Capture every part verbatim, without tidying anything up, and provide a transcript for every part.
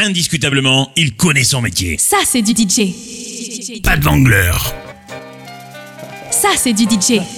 Indiscutablement, il connaît son métier. Ça, c'est du D J. Pas de Wangler. Ça, c'est du D J. Nah,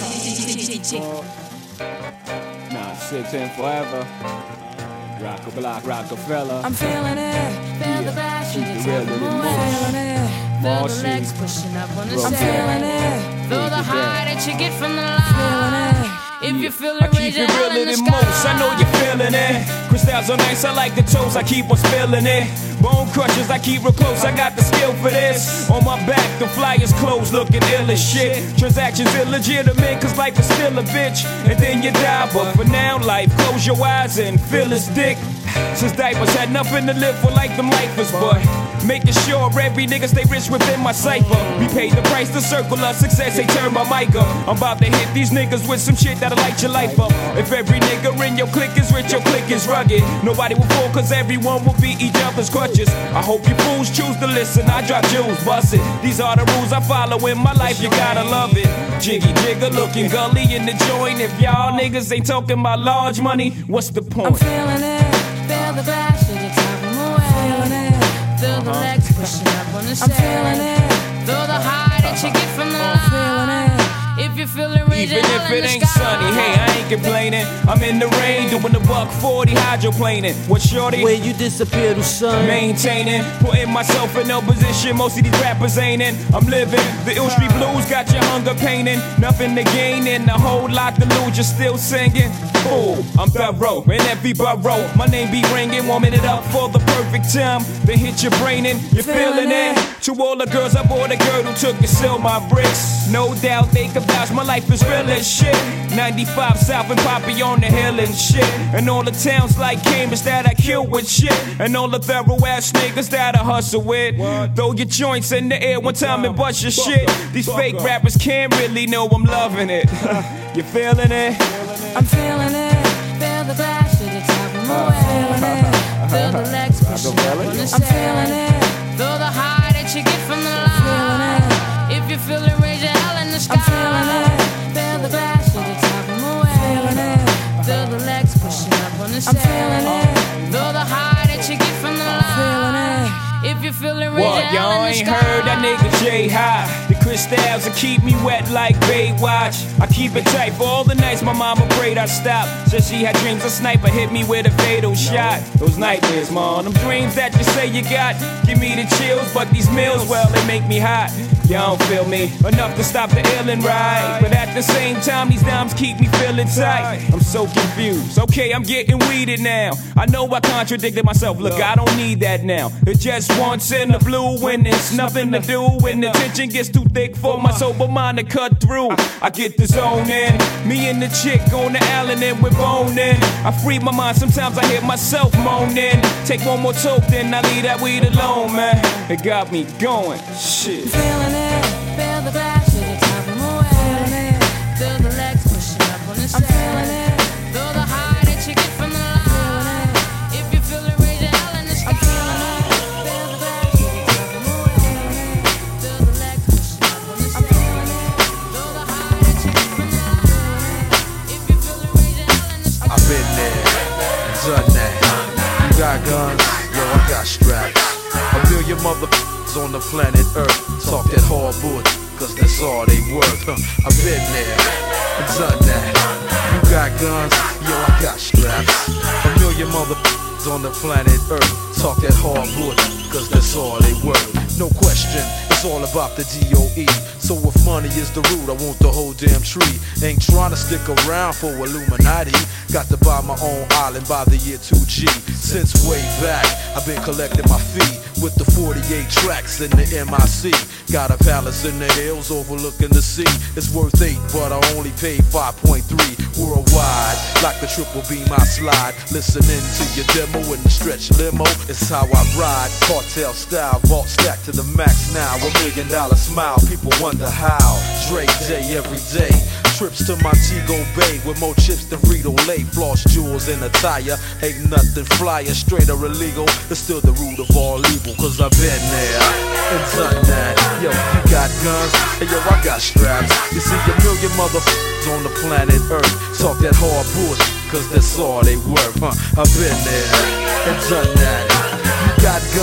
six and forever. Rock-a-block, Rockefeller. I'm feeling it. Feel the bash in your Really, time. really Feeling it. Feel the legs pushing up on the I'm set. feeling it. Feel the high that you get from the Feeling line. it. If you feel I it, keep raise it your hand in realer the than most, sky. I know you're feeling it. Crystals are nice, I like the toes, I keep on spilling it. Bone crushers, I keep real close, I got the skill for this. On my back, the flyers closed, looking ill as shit. Transactions illegitimate, cause life is still a bitch. And then you die, but for now, life, close your eyes and feel his dick. Since diapers had nothing to live for like them lifers, but making sure every nigga stay rich within my cipher. We paid the price to circle of success, they turn my mic up. I'm about to hit these niggas with some shit that'll light your life up. If every nigga in your clique is rich, your clique is rugged. Nobody will fall cause everyone will be each other's crutches. I hope you fools choose to listen, I drop jewels, bust it. These are the rules I follow in my life, you gotta love it. Jiggy jigger looking gully in the joint. If y'all niggas ain't talking about large money, what's the point? I'm feeling it. Feel the bash in your time away. Feeling it. Feel the legs pushing up on the set. I'm feeling it. Feel the high that you get from the Feeling line. it. If you feel it, raise Even your if hand in it the ain't sky. sunny, hey, I ain't complaining. I'm in the rain doing the buck forty hydroplaning. What shorty? Where you disappear to son? Maintaining, putting myself in no position most of these rappers ain't in. I'm living, the ill street blues got your hunger painting. Nothing to gain and a whole lot to lose, you're still singing. Fool, I'm thorough, in every borough. My name be ringing, warming it up for the perfect time. Then hit your brain and you're feeling it. To all the girls, I bought a girl who took and sell my bricks. No doubt they could vouch, my life is real as shit. ninety-five South and Poppy on the hill and shit. And all the towns like Cambridge that I kill with shit. And all the thorough ass niggas that I hustle with. Throw your joints in the air one time and bust your shit. These fake rappers can't really know I'm loving it. You feeling it? I'm feeling it. Feel the bash in your time away. Feeling it. Feel the legs pushing up on the I'm set. feeling it. Feel the high that you get from the line. If you feel it, raise your hell in the sky. I'm feeling it. Feel the bash in your time away. Feeling it. Feel the legs pushing up on the set. I'm feeling it. Feel the high that you get from the Feeling line. it. If you feel it, raise your What, hell y'all in the ain't sky. heard that nigga J High. The crystals will keep me wet like Baywatch. I keep it tight for all the nights my mama prayed I stop. Said she had dreams a sniper hit me with a fatal shot. Those nightmares, man, them dreams that you say you got give me the chills, but these meals, well, they make me hot. Y'all don't feel me enough to stop the ill and right, but at the same time these dimes keep me feeling tight. I'm so confused. Okay, I'm getting weeded now. I know I contradicted myself. Look, I don't need that now. It just once in the blue when it's nothing to do. When the tension gets too thick for my sober mind to cut through, I get the zone in. Me and the chick on the island and we're boning. I free my mind. Sometimes I hear myself moaning. Take one more toke, then I leave that weed alone, man. It got me going. Shit. Feeling it. Feel the bash in your time away. Feeling it. Feel the legs pushing up on the set. I'm feeling it. Feel the high that you get from the line. If you feel it, raise your hell in the sky. I'm feeling it. Feel the bash in your time away. Feel the legs pushing up on the set. I'm feeling it. Feel the high that you get from the line. If you feel it, raise your hell in the sky. I've been there, done that. You got guns, yo, I got straps. A million motherfuckers on the planet Earth talk that hardwood, cause that's all they worth. Huh. I've been there, done that. You got guns, yo, I got straps. A million motherfuckers on the planet Earth talk that hardwood, cause that's all they worth. No question, it's all about the D O E. So if money is the root, I want the whole damn tree. Ain't trying to stick around for Illuminati. Got to buy my own island by the year two G. Since way back, I've been collecting my fee with the forty-eight tracks in the M I C. Got a palace in the hills overlooking the sea. It's worth eight, but I only paid five point three worldwide. Like the triple beam I slide, listening to your demo in the stretch limo. It's how I ride, cartel style, vault stack to the max now. A million dollar smile, people wonder how. Dre day every day. Trips to Montego Bay with more chips than Frito-Lay. Floss jewels in attire, ain't nothing flyer, straight or illegal. It's still the root of all evil, cause I've been there and done that. Yo, you got guns, and yo, I got straps. You see a million motherfuckers on the planet Earth talk that hard bullshit, cause that's all they worth, huh? I've been there and done that. You got guns.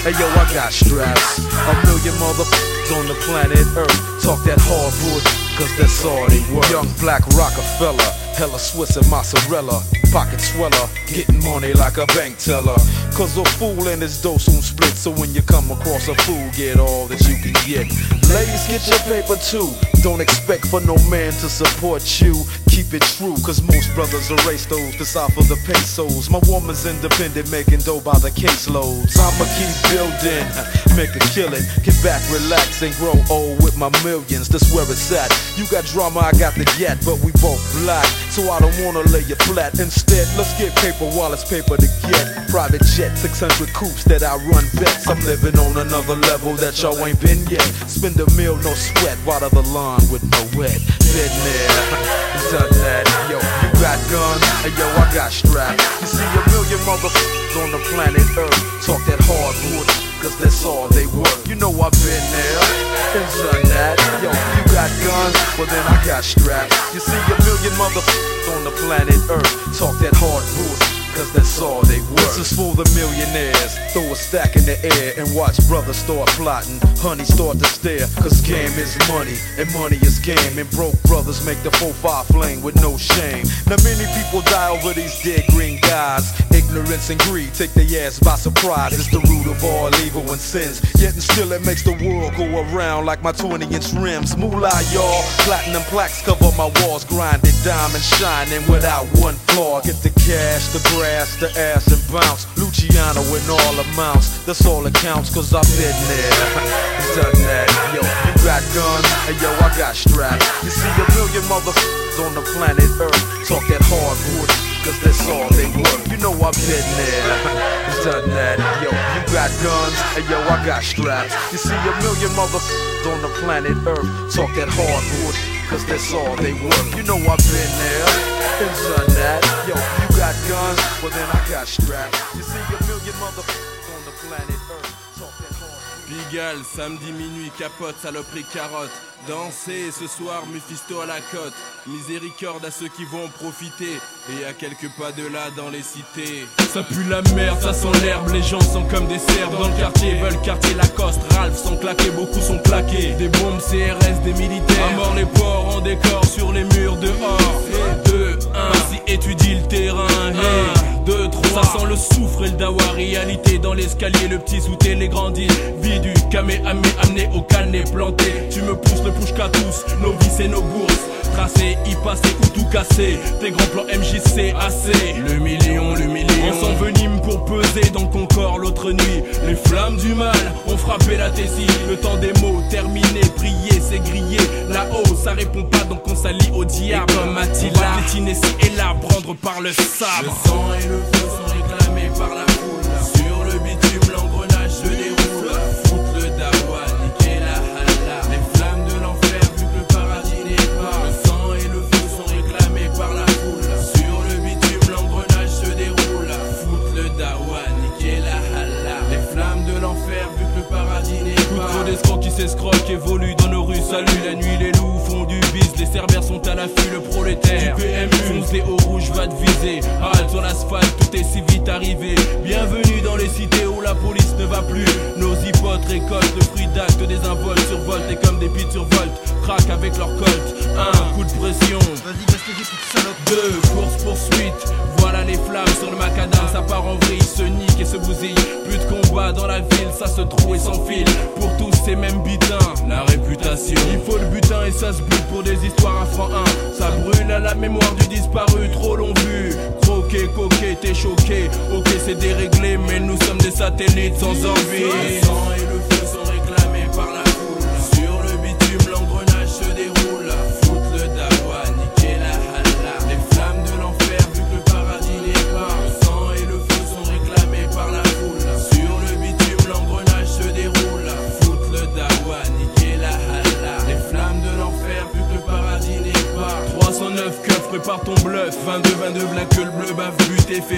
Hey yo, I got straps. A million motherfuckers on the planet Earth talk that hard bullshit, cause that's all they worth. Young black Rockefeller, hella Swiss and mozzarella, pocket sweller, getting money like a bank teller. Cause a fool and his dough soon split, so when you come across a fool, get all that you can get. Ladies, get your paper too. Don't expect for no man to support you. Keep it true, cause most brothers erase those decipher the pesos. My woman's independent, making dough by the caseloads. I'ma keep building, make a killing, get back, relax, and grow old with my millions. That's where it's at. You got drama, I got the gat, but we both black, so I don't wanna lay you flat. Instead, let's get paper while it's paper to get. Private jet, six hundred coops that I run bets. I'm living on another level that y'all ain't been yet. Spend a meal, no sweat, water the lawn with no wet. Been there, done that. Yo, you got guns, and yo, I got straps. You see a million motherfuckers on the planet Earth talk that hardwood, cause that's all they worth. You know I've been there, and done that. Yo, you got guns, well then I got straps. You see a million motherfuckers on the planet Earth talk that hardwood, cause that's all they worth. This is for the millionaires. Throw a stack in the air and watch brothers start plotting. Honey start to stare, cause game is money and money is game. And broke brothers make the four five flame with no shame. Now many people die over these dead green guys. Ignorance and greed take their ass by surprise. It's the root of all evil and sins. Yet and still it makes the world go around like my twenty inch rims. Moolah y'all, platinum plaques cover my walls. Grinded diamond shining without one flaw. Get the cash, the grass, the ass and bounce. Luciano in all amounts, that's all that counts, cause I've been there, done that. Yo, you got guns, and yo, I got straps. You see a million motherfuckers on the planet Earth talk that hardwood, cause that's all they worth. You know I've been there, done that. Yo, you got guns, and yo, I got straps. You see a million motherfuckers on the planet Earth talk that hardwood, cause that's all they worth. You know I've been there, and done that. Yo, you got guns, well then I got straps. You see a million motherfuckers on the planet Earth talk that hardwood. Pigalle, samedi minuit, capote, saloperie, carotte. Danser ce soir, Mephisto à la côte. Miséricorde à ceux qui vont en profiter. Et à quelques pas de là dans les cités. Ça pue la merde, ça sent l'herbe. Les gens sont comme des cerfs dans le quartier. Veulent quartier Lacoste, Ralph sont claqués, beaucoup sont claqués. Des bombes C R S, des militaires. À mort les porcs en décor sur les murs dehors. deux, un, vas-y étudie le terrain. un, deux, trois, ça sent le soufre et le dawa. Réalité dans l'escalier, le petit sous les grandis. Vie du Kamehameha amené au calné planté. Tu me pousses le push qu'à tous, nos vies et nos bourses. Tracé, y passer ou tout casser. Tes grands plans M J C assez. Le million, le million. On s'envenime pour peser dans ton corps l'autre nuit. Les flammes du mal ont frappé la tessie. Le temps des mots terminé, prier c'est griller. Là-haut ça répond pas donc on s'allie au diable. Et comme Attila, piétiner ci et là, prendre par le sabre. Le sang et le feu sont réclamés par la foule. Sur le bitume l'engrenage se déroule. Foutre le dawa, niquer la halla. Les flammes de l'enfer vu que le paradis n'est pas. Le sang et le feu sont réclamés par la foule. Sur le bitume l'engrenage se déroule. Foutre le dawa, niquer la halla. Les flammes de l'enfer vu que le paradis n'est pas. Trop d'escrocs qui s'escroquent évoluent dans nos rues. Salut la nuit, les loups font du bis. Les cerbères sont à l'affût, le prolétaire du P M U fonce des hauts rouges va te viser. Halte sur l'asphalte, tout est si vite arrivé. Bienvenue dans les cités où la police ne va plus. Nos hypotes récoltent le fruit d'actes désinvoltes. Survoltent et comme des pites survoltent. Craquent avec leur colt. Un coup de pression. Vas-y, baisse les vies, petite salope. Deux, course poursuite. Voilà les flammes sur le macadam. Ça part en vrille, se nique et se bousille. Plus de combat dans la ville, ça se trouve et s'enfile. Pour tous ces mêmes butins, la réputation. Il faut le butin et ça se bute pour des histoires à franc un. Ça brûle à la mémoire du disparu, trop long vu. Croqué, coqué, t'es choqué. Ok c'est déréglé, mais nous sommes des satellites sans envie. Le sang et le feu sont réclamés par la foule. Sur le bitume l'engrenage se déroule. Foutre le dawa, niquer la halla. Les flammes de l'enfer vu que le paradis n'est pas. Le sang et le feu sont réclamés par la foule. Sur le bitume l'engrenage se déroule. Foutre le dawa, niquer la halla. Les flammes de l'enfer vu que le paradis n'est pas. trois cent neuf keufs, prépare ton bluff. vingt-deux, vingt-deux, black, que le bleu bave, but et fait feu, bouge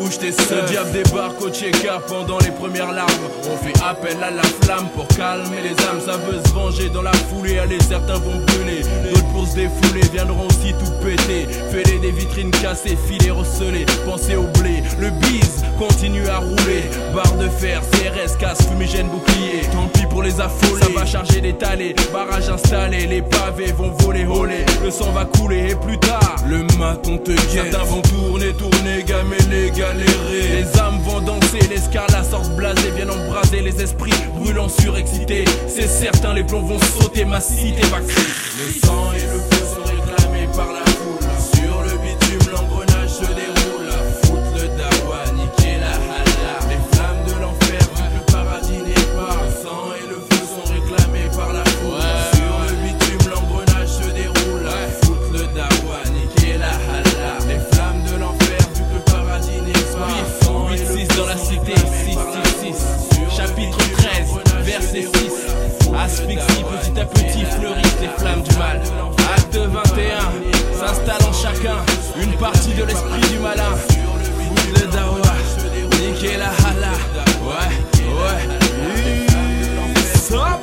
bouge tes seins. Le diable débarque au check-up pendant les premières larmes. On fait appel à la flamme pour calmer les âmes. Ça veut se venger dans la foulée. Allez, certains vont brûler, d'autres pour se défouler viendront aussi tout péter. Fêler des vitrines cassées, filets recelés. Pensez au blé, le bise continue à rouler. Barre de fer, C R S, casse, fumigène, bouclier. Tant pis pour les affolés, ça va charger des talés. Barrage installé, les pavés vont voler, voler. Le sang va couler et plus tard, le maton te guette. Certains vont tourner, tourner, gameler, galérer. Les âmes vont danser, les scars, la sorte blasée viennent embraser les esprits brûlants surexcités. C'est certain, les plombs vont sauter, ma cité va crier. Le sang et le feu sont réclamés par la foule. Sur le bitume, l'engrenage se déroule. Foutre le dawa, niquer la hala. Les flammes de l'enfer, vu que le paradis n'est pas. Le sang et le feu sont réclamés par la foule. Sur le bitume, l'engrenage se déroule. Foutre le dawa, niquer la hala. Les flammes de l'enfer, vu que le paradis n'est pas. huit six dans la cité, six six six. Chapitre treize, verset six. Asphyxie, petit à petit fleurissent les flammes du mal. Acte vingt et un, s'installe en chacun une partie de l'esprit du malin. Foutre le dawa, niquer la hala. Ouais, ouais. Stop.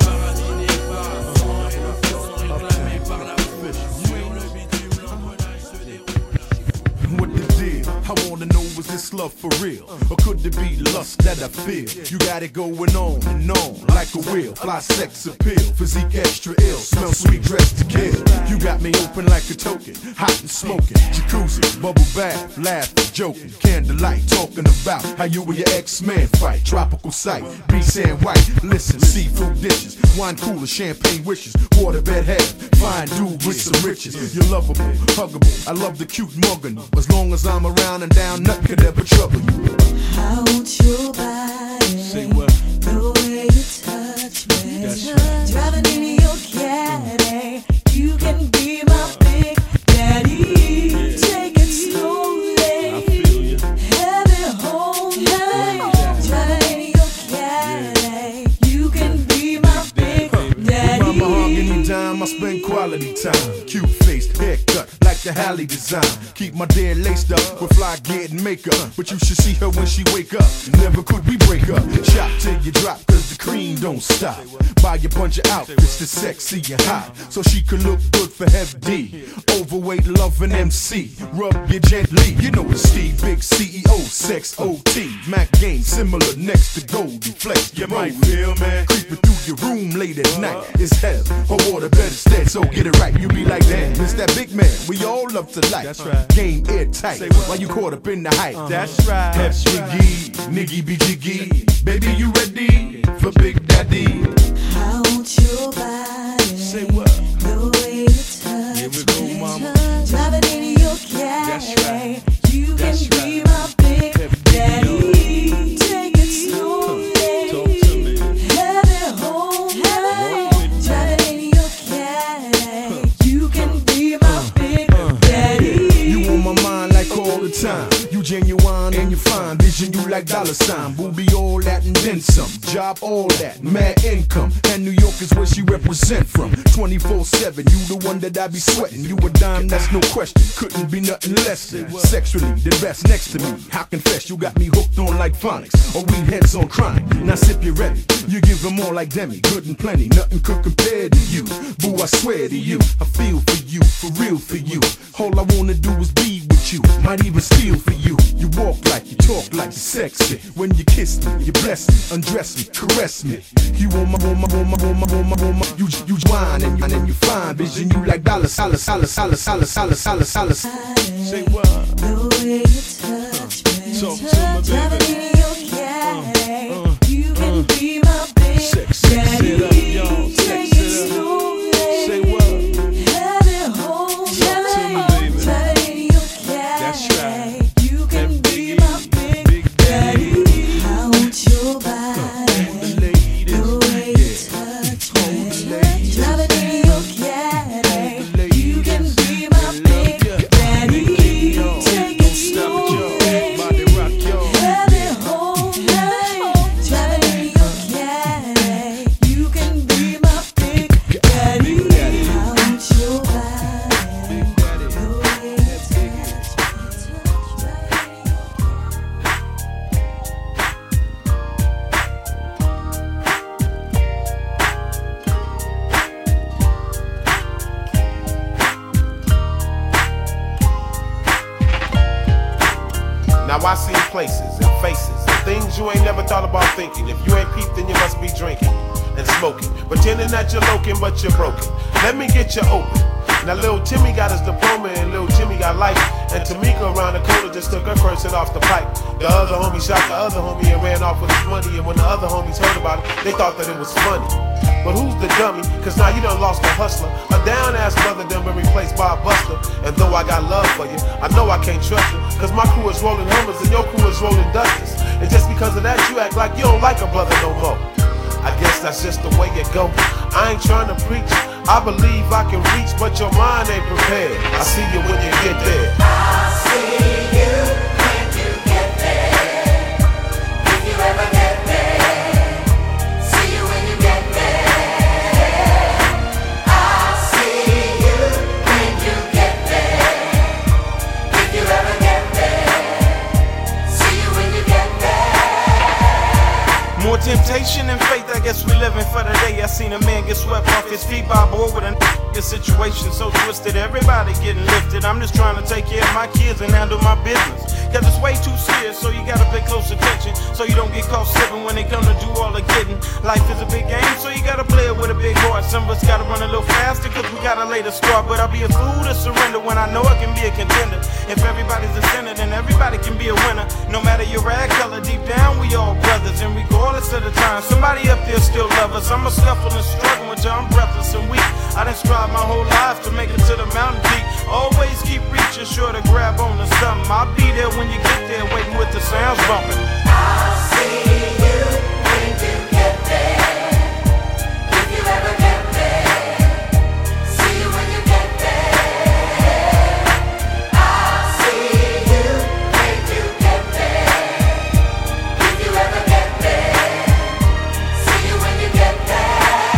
What the deal? I wanna know, is this love for real? Or could it be lust that I feel? You got it going on and on like a wheel. Fly sex appeal, physique extra ill. Smell sweet, dressed to kill. You got me open like a token, hot and smoking. Jacuzzi, bubble bath, laughing, joking. Candlelight, talking about how you and your ex-man fight. Tropical sight, be sand white. Listen, seafood dishes, wine cooler, champagne wishes. Waterbed head, fine dude with some riches. You're lovable, huggable. I love the cute mugging. As long as I'm around and down, nothing could ever trouble you. I want your body. Say what? The way you touch me. That's right. Driving in your caddy. You can be my big daddy. Yeah. Take it slowly. I feel you. Have it home. Hey. Driving in your caddy. You can be my big daddy. My mahogany dime, I spend quality time. Cute face, haircut, like the Halle design. Keep my dear laced up with fly getting makeup. But you should see her when she wake up. Never could we break up. Shop till you drop, cause the cream don't stop. Buy a bunch of outfits that's sexy and hot, so she can look good for F D. Overweight, loving M C. Rub you gently. You know it's Steve, big C E O, sex O T. Mac game similar next to Goldie Flex. You might feel, man. Creeping through your room late at night. It's hell. Her water better instead, so get it right. You be like, damn, it's that big man. We all love to like. That's right. Game airtight. Why you caught up in the hype? Uh-huh. That's right. That's Jiggy, Niggy be jiggy. Baby, you ready for Big Daddy? I want your body. Say what? The way you touch Here we go, me. mama. Driving in your caddy. That's right. You That's can be right. my big Big daddy. Take it slowly. Talk to me. Have it home. Hey. Driving in your caddy. You can be my big daddy. You on my mind like all the time. You genuine and you fine. Vision you like dollar sign. Booby all that and then some. Job all that. Mad income. And New York is where she represent from. twenty-four seven. You the one that I be sweating. You a dime, that's no question. Couldn't be nothing less than. Sexually, the best next to me. I confess you got me hooked on like phonics. Or we heads on chronic. Now sip you ready. You give them more like Demi. Good and plenty. Nothing could compare to you. Boo, I swear to you. I feel for you. For real for you. All I wanna do is be with you. Might even steal for you. You walk like, you talk like, you sexy. When you kiss me, you bless me, undress me, caress me. You on my, on my, on my, on my, on my, on my. You, you whine and you, and you fine. Vision you like dollar, dollar, dollar, dollar, dollar, dollar, dollar, dollar. Say what? The way you touch me. Talk to my baby. Driving in your caddy. Uh, uh, You can uh. be my big Sex, sex daddy. it up, y'all. Take Sex it it up. slowly. Say what? Have it home. Talk to me, baby. Driving in your caddy. That's right. You can That be biggie, my big, big daddy. daddy. I want your body. Hold the ladies. The way you touch Hold the me. ladies. Driving in your caddy. Hold the ladies. You can be my They love big ya. daddy. Yo, places and faces and things you ain't never thought about thinking. If you ain't peeped, then you must be drinking and smoking, pretending that you're loking, but you're broken. Let me get you open. Now little Timmy got his diploma and little Jimmy got life. And Tamika around the corner just took her person off the pipe. The other homie shot the other homie and ran off with his money. And when the other homies heard about it, they thought that it was funny. But who's the dummy? Cause now you done lost a hustler. A down ass brother done been replaced by a buster. And though I got love for you, I know I can't trust you. Cause my crew is rolling Hummers and your crew is rolling Dusters. And just because of that you act like you don't like a brother no more. I guess that's just the way it go. I ain't trying to preach, I believe I can reach, but your mind ain't prepared. I see you when you get there. I see you when you get there. If you ever get there, see you when you get there. I see you when you get there. If you ever get there, see you when you get there. More temptation and faith, I guess we living for the day. I seen a man get swept off his feet by a boy with a n***a situation so twisted. Everybody getting lifted. I'm just trying to take care of my kids and handle my business. Cause it's way too serious, so you gotta pay close attention, so you don't get caught slipping when they come to do all the getting. Life is a big game, so you gotta play it with a big heart. Some of us gotta run a little faster, cause we gotta lay the start. But I'll be a fool to surrender when I know I can be a contender. If everybody's a sinner, then everybody can be a winner. No matter your rag color, deep down we all brothers. And regardless of the time, somebody up there still love us. I'm a scuffle and struggle until I'm breathless and weak. I done strive my whole life to make it to the mountain peak. Always keep reaching, sure to grab on to something. I'll be there when you get there, waiting with the sounds bumping. I'll see you when you get there. If you ever get there, see you when you get there. I'll see you when you get there. If you ever get there, see you when you get there.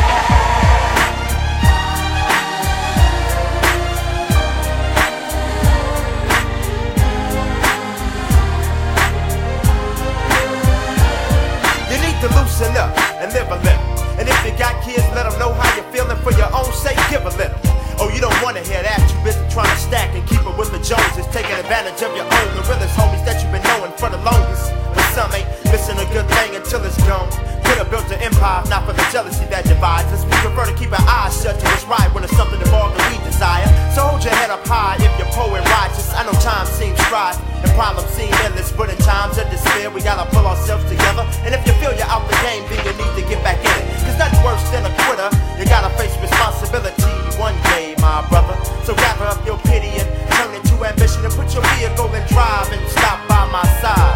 To loosen up and live a little. And if you got kids, let them know how you're feeling. For your own sake, give a little. Oh, you don't wanna hear that. You busy trying to stack and keep it with the Joneses, taking advantage of your own, the realest homies that you've been knowing for the longest. But some ain't missing a good thing until it's gone. Could have built an empire, not for the jealousy that divides us. We prefer to keep our eyes shut to what's right when it's something involved that we desire. So hold your head up high if you're poor and righteous. I know time seems dry and problems seem endless, but in times of despair we gotta pull ourselves together. And if you feel you're out the game, then you need to get back in it. Cause nothing worse than a quitter. You gotta face responsibility one day, my brother. So gather up your pity and turn it to ambition, and put your vehicle in drive and stop by my side.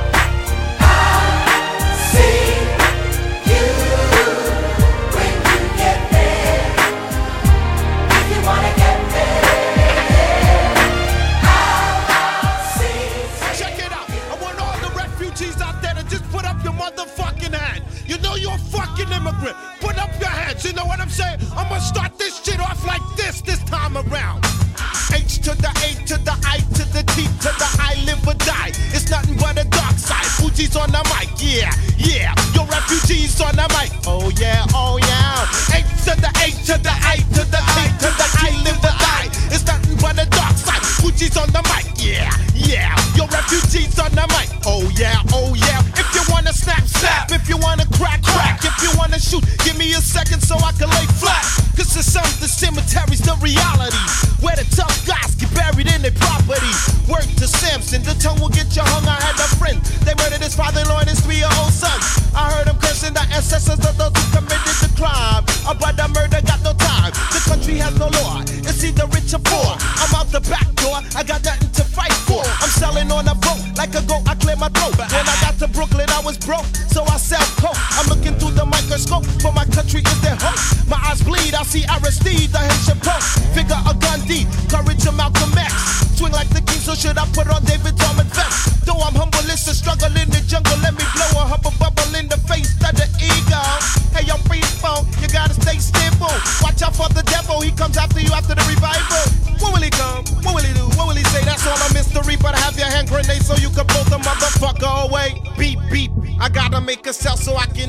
I see you when you get there. If you wanna get there, I'll see. Check it out. I want all the refugees out there to just put up your motherfucking hand. You know you're a fucking immigrant. Put up your hands. You know what I'm saying? I'm gonna start this shit off like this this time around. H to the A to the I to the T to the I live or die. It's nothing but a dark side. Fuji's on the mic, yeah, yeah. Your refugees on the mic, oh yeah, oh yeah. H to the A to the I to the T to the I live or die. It's nothing but a dark side. Fuji's on the mic, yeah, yeah. Your refugees on the mic, oh yeah, oh yeah. If you wanna snap, snap. If you wanna crack, crack. If you wanna shoot, give me a second so I can lay flat. Cause it's some the cemetery's the reality, where the tough guys get buried in their property. Word to Samson, the tongue will get you hung. I had a friend, they murdered his father-in-law and his three-year-old son. I heard him cursing the ancestors of those who committed the crime. About the murder, got no time. The country has no law, it's either rich or poor. I'm out the back door, I got nothing to fight for. I'm selling on a boat, like a goat, I clear my throat. When I got to Brooklyn, I was broke, so I sell coke. I'm looking through the microscope, for my country is their hope. My eyes bleed, I see Aristide, the Haitian Pope. Figure a Gandhi, courage of Malcolm X. Swing like the king, so should I put on David Dorman vest? Though I'm humble, it's a struggle in the jungle. Let me blow a hubble bubble in the face of the ego. Hey, yo, free phone, you gotta stay stable. Watch out for the devil, he comes after you after the revival. When will he come? What will he do? What will he say? That's all a mystery, but have your hand grenade so you can blow the motherfucker away. Beep, beep, I gotta make a cell so I can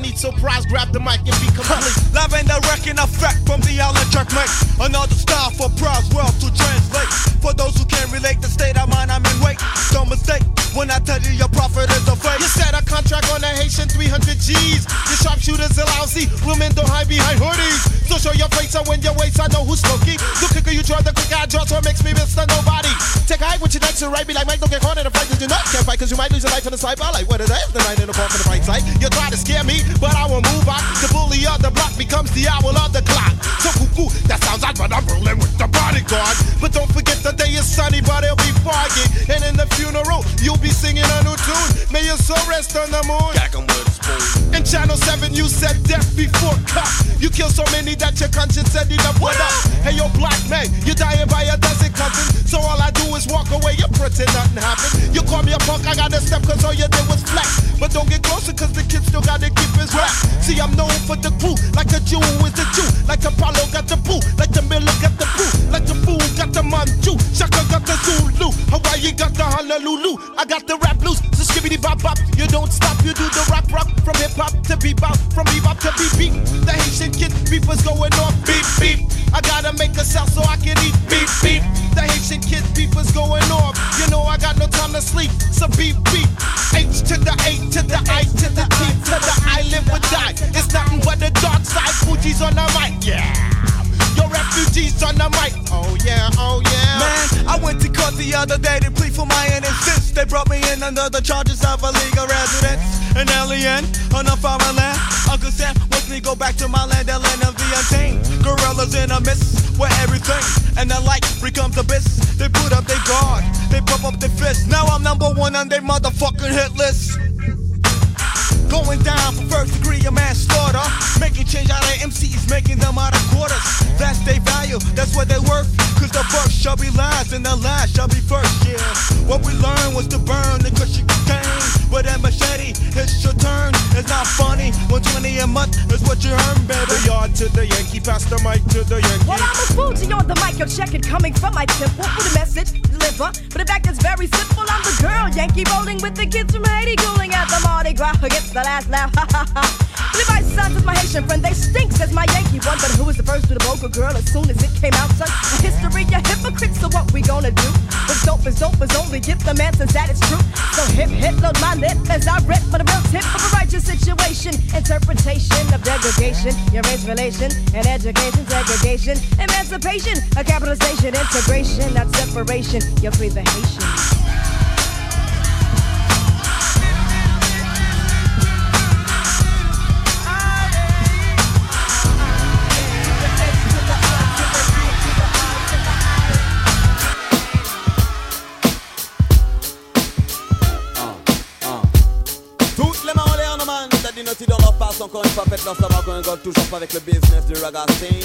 need surprise, grab the mic and be complete. Live and direct in effect from the electric mix. Another style for prize world to translate. For those who can't relate the state of mind, I'm in wait. Don't mistake when I tell you your prophet is a fake. You set a contract on a Haitian three hundred G's. Your sharpshooters are lousy, women don't hide behind hoodies. So show your face, and when your waist, I know who's smoky. The quicker you draw, the quicker I draw, so it makes me Mister Nobody. Take a hike with your next to right, be like Mike, don't get caught in a fight, cause you not can't fight, cause you might lose your life in the sniper. Like what is that? The night in the park for the bright side. You try to scare me, but I will move on. The bully of the block becomes the owl of the clock. So cuckoo, that sounds odd, but I'm rolling with the bodyguard. But don't forget the day is sunny, but it'll be foggy. And in the funeral, you'll be singing a new tune. May your soul rest on the moon. In Channel seven, you said death before cut. You kill so many that your conscience said you never up. Hey, yo, black man, you're dying by a dozen cousins. So all I do is walk away, you pretend nothing happened. You call me a punk, I gotta step, cause all you did was flex. But don't get closer, cause the kid still gotta keep his rap. See, I'm known for the crew, like a Jew is the Jew. Like Apollo got the boo, like the Miller got the boo. Like the fool got the Manchu, Shaka got the Zulu. Hawaii got the Honolulu, I got the rap blues. So skibbity bop bop, you don't stop, you do the rock rock. From hip hop to bebop, from bebop to beep beep. The Haitian kid beepers going off beep beep. I gotta make a sound so I can eat beep beep. The Haitian kid beepers going off. You know I got no time to sleep, so beep beep. H to the A to the I to the T to the I live or die. It's nothing but the dark side. Fuji's on the mic, yeah. Your refugees on the mic, oh yeah, oh yeah. Man, I went to court the other day to plead for my innocence. They brought me in under the charges of illegal residence. An alien on a foreign land. Uncle Sam wants me to go back to my land, the land of the untamed. Gorillas in a mist where everything and the light becomes abyss. They put up their guard, they pump up their fists. Now I'm number one on their motherfucking hit list. Going down for first degree of manslaughter. Making change out of M Cs, making them out of quarters. That's their value, that's what they worth. Cause the first shall be last and the last shall be first, yeah. What we learned was to burn the cushion cocaine. But that machete, it's your turn. It's not funny, one twenty a month is what you earn, baby. The yard to the Yankee, pass the mic to the Yankee. Well, I'm a Fuji on the mic, yo, check it coming from my temple. For the message, deliver. But the fact is very simple, I'm the girl Yankee rolling with the kids from Haiti, cooling at the Mardi Gras. Gets the last laugh, ha ha ha. Levi Sons is my Haitian friend, they stink, says my Yankee one. But who was the first to the vocal girl as soon as it came out, son? A history, a hypocrite, so what we gonna do? What's dope is dope is only give the man since that is true. So hip, hip, load my lip as I rip for the real tip of a righteous situation. Interpretation of degradation, your race relation, and education, segregation, emancipation, a capitalization, integration, not separation. You're free the Haitian. Dynasty dans leur face, encore une fois, faites-leur savoir qu'on rigole toujours pas avec le business du raga scene.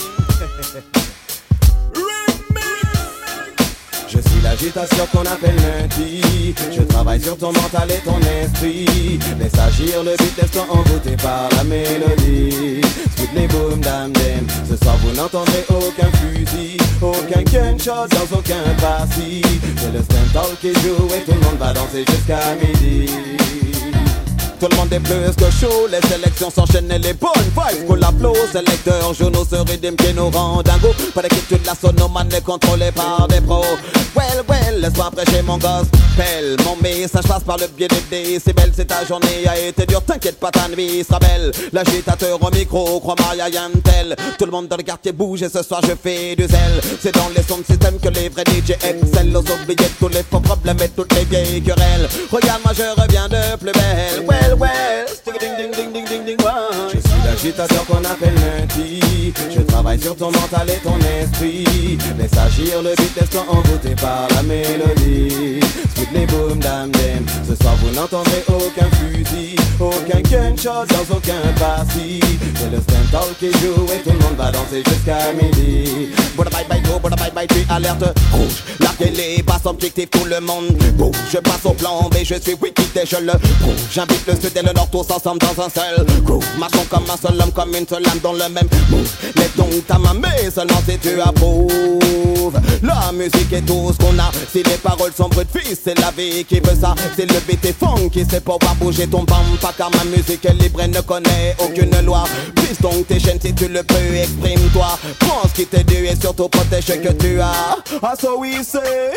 Je suis l'agitation qu'on appelle lundi. Je travaille sur ton mental et ton esprit. Laisse agir le beat, laisse-toi envoûter par la mélodie. Split les boom dam dem. Ce soir vous n'entendrez aucun fusil, aucun gunshot dans aucun parti. C'est le stand-all qui joue et tout le monde va danser jusqu'à midi. Tout le monde est plus que chaud, les sélections s'enchaînent et les bonnes vibes qu'on l'applaudit. Sélecteurs, journaux se rédiment qui nous rendent dingo. Pas d'équipe, la sonomane est contrôlée par des pros. Well, well, laisse-moi prêcher mon gospel. Mon message passe par le biais des décibels. C'est ta journée a été dure, t'inquiète pas, ta nuit sera belle. L'agitateur au micro, crois-moi, y'a rien de tel. Tout le monde dans le quartier bouge et ce soir je fais du zèle. C'est dans les sons de système que les vrais D J excellent. Aux oubliés tous les faux problèmes et toutes les vieilles querelles. Regarde-moi, je reviens de plus belle. Well, well, ding ding ding ding ding ding wow. Je suis l'agitateur qu'on appelle lundi. Je travaille sur ton mental et ton esprit. Laisse agir le beat, laisse-toi envoûter par la mélodie. Split les boom dam dem. Ce soir vous n'entendrez aucun fusil, aucun gunshot dans aucun parti. C'est le stand-all qui joue et tout le monde va danser jusqu'à midi. Bouda bye bye go, bouda bye bye tu alerte rouge. La télé passe objectif, tout le monde bouge. Je passe au plan B, je suis wiki et je le prouve. J'invite le sud et le nord tous ensemble dans un seul groove. Marchons comme un seul homme, comme une seule âme dans le même move. Mets donc ta main mais seulement si tu approuves. La musique est tout ce qu'on a. Si les paroles sont brutes, fils, c'est la vie qui veut ça. C'est le beat et funky, c'est pouvoir bouger ton bampa. Car ma musique est libre et ne connaît aucune loi. Prise donc tes chaînes si tu le peux, exprime-toi. Prends ce qui t'est dû et surtout protège ce que tu as. Ah, so we say.